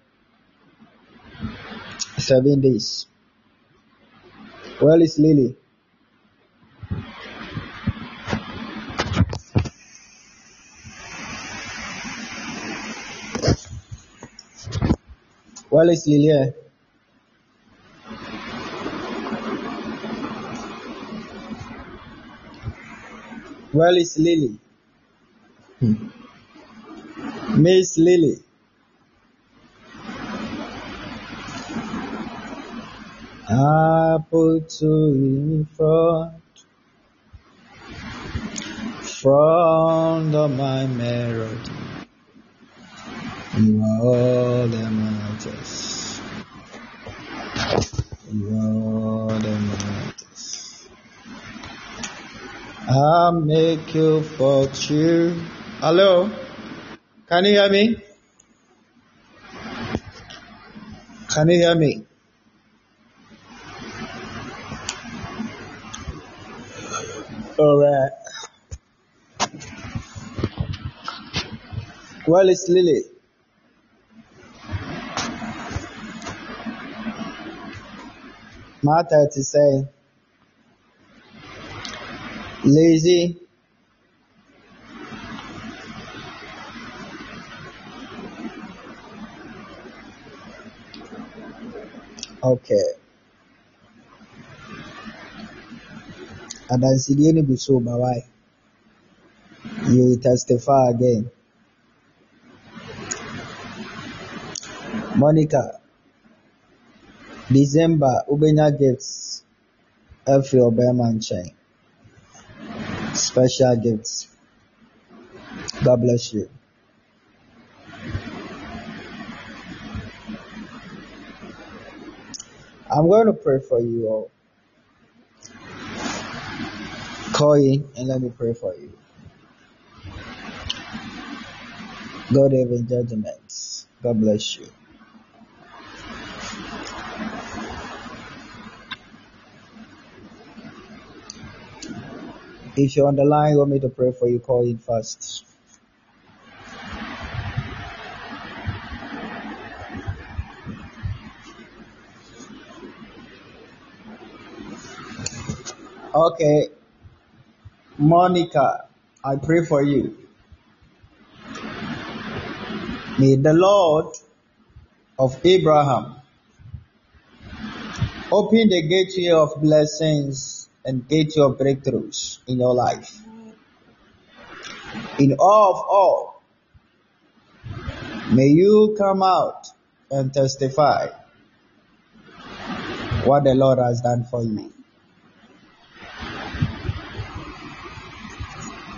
Seven days. Where is Lily? Where is Lily? Where is Lily? Hmm. Miss Lily. I put you in front, front of my melody. You are all that matters. You are all that matters. I'll make you fortune. Hello? Can you hear me? Can you hear me? Alright. Well, it's Lily. Martha to say, lazy. Okay. And I see the be so why you will testify again. Monica, December, Ubenya gifts, every Obama chain. Special gifts. God bless you. I'm going to pray for you all. Call in and let me pray for you. God have in judgment. God bless you. If you're on the line, you want me to pray for you, call in first. Okay. Monica, I pray for you. May the Lord of Abraham open the gateway of blessings and gateway of breakthroughs in your life. In all of all, may you come out and testify what the Lord has done for you.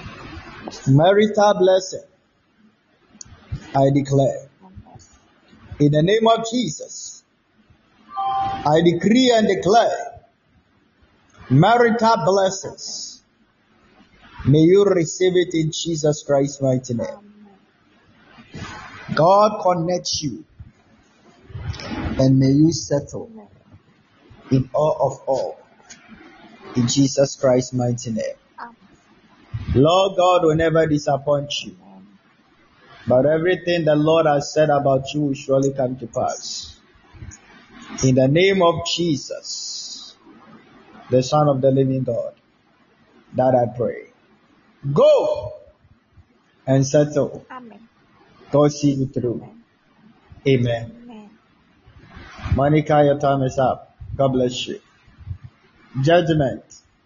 Marital blessing, I declare. In the name of Jesus, I decree and declare marital blessings. May you receive it in Jesus Christ's mighty name. God connects you and may you settle in all of all in Jesus Christ's mighty name. Lord God will never disappoint you, but everything the Lord has said about you will surely come to pass. In the name of Jesus, the Son of the living God, that I pray. Go and settle. Amen. God see you through. Amen. Amen. Monica, your time is up. God bless you. Judgment.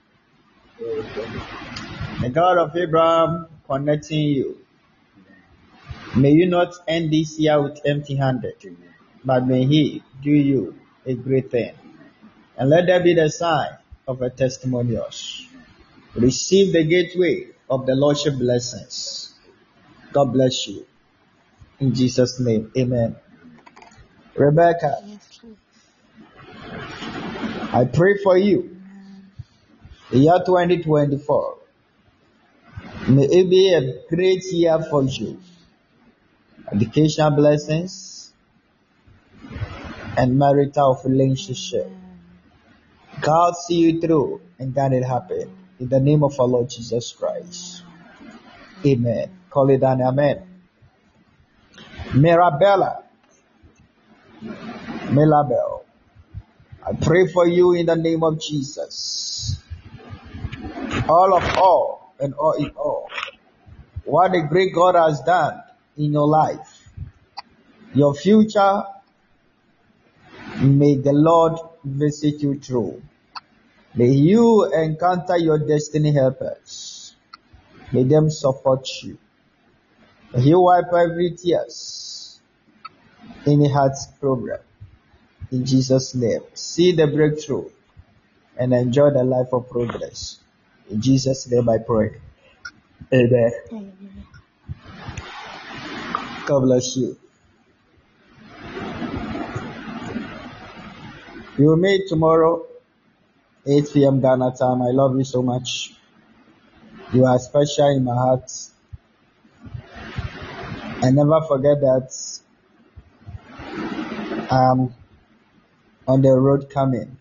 The God of Abraham connecting you. May you not end this year with empty-handed, but may He do you a great thing. And let that be the sign of a testimonials. Receive the gateway of the Lordship blessings. God bless you. In Jesus' name, amen. Rebecca, I pray for you. The year twenty twenty-four, may it be a great year for you. Educational blessings and marital relationship. God see you through and God it happen. In the name of our Lord Jesus Christ. Amen. Call it down. Amen. Mirabella. Mirabel. I pray for you in the name of Jesus. All of all and all in all. What a great God has done in your life. Your future, may the Lord visit you through. May you encounter your destiny helpers. May them support you. May He wipe every tears in a heart's program. In Jesus' name. See the breakthrough and enjoy the life of progress. In Jesus' name I pray. Amen. Amen. God bless you. We will meet tomorrow, eight p.m. Ghana time. I love you so much. You are special in my heart. And never forget that I'm on the road coming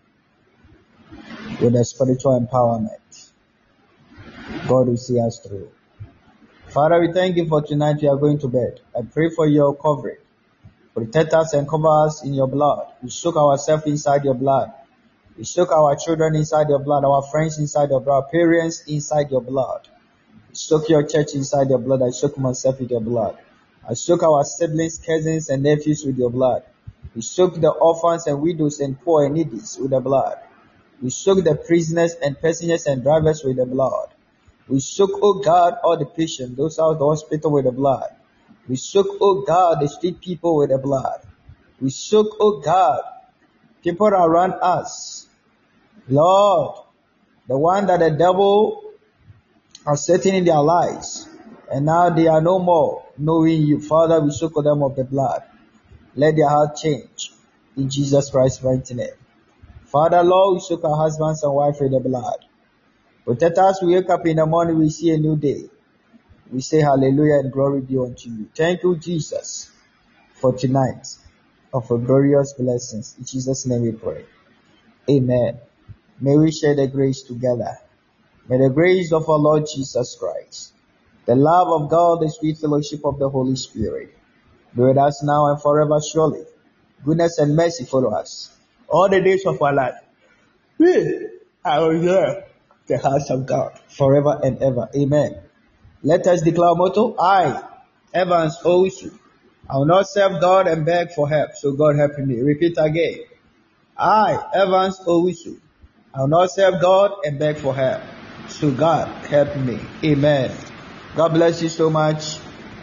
with a spiritual empowerment. God will see us through. Father, we thank you for tonight. We are going to bed. I pray for your covering. Protect us and cover us in your blood. We soak ourselves inside your blood. We soak our children inside your blood, our friends inside your blood, parents inside your blood. We soak your church inside your blood. I soak myself with your blood. I soak our siblings, cousins, and nephews with your blood. We soak the orphans and widows and poor and needy with the blood. We soak the prisoners and passengers and drivers with the blood. We soak, oh God, all the patients, those out of the hospital with the blood. We soak, oh God, the street people with the blood. We soak, oh God, people around us. Lord, the one that the devil has set in their lives, and now they are no more knowing you. Father, we soak them of the blood. Let their heart change in Jesus Christ's mighty name. Father, Lord, we soak our husbands and wives with the blood. Protect us, we wake up in the morning, we see a new day. We say hallelujah and glory be unto you. Thank you, Jesus, for tonight of a glorious blessings. In Jesus' name we pray. Amen. May we share the grace together. May the grace of our Lord Jesus Christ, the love of God, the sweet fellowship of the Holy Spirit, be with us now and forever surely. Goodness and mercy follow us all the days of our life. We are here, the house of God, forever and ever. Amen. Let us declare motto. I, Evans Owusu, I will not serve God and beg for help, so God help me. Repeat again. I, Evans Owusu, I will not serve God and beg for help, so God help me. Amen. God bless you so much,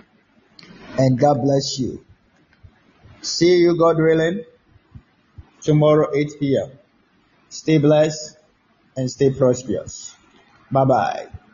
and God bless you. See you, God willing, tomorrow eight p.m. Stay blessed and stay prosperous. Bye-bye.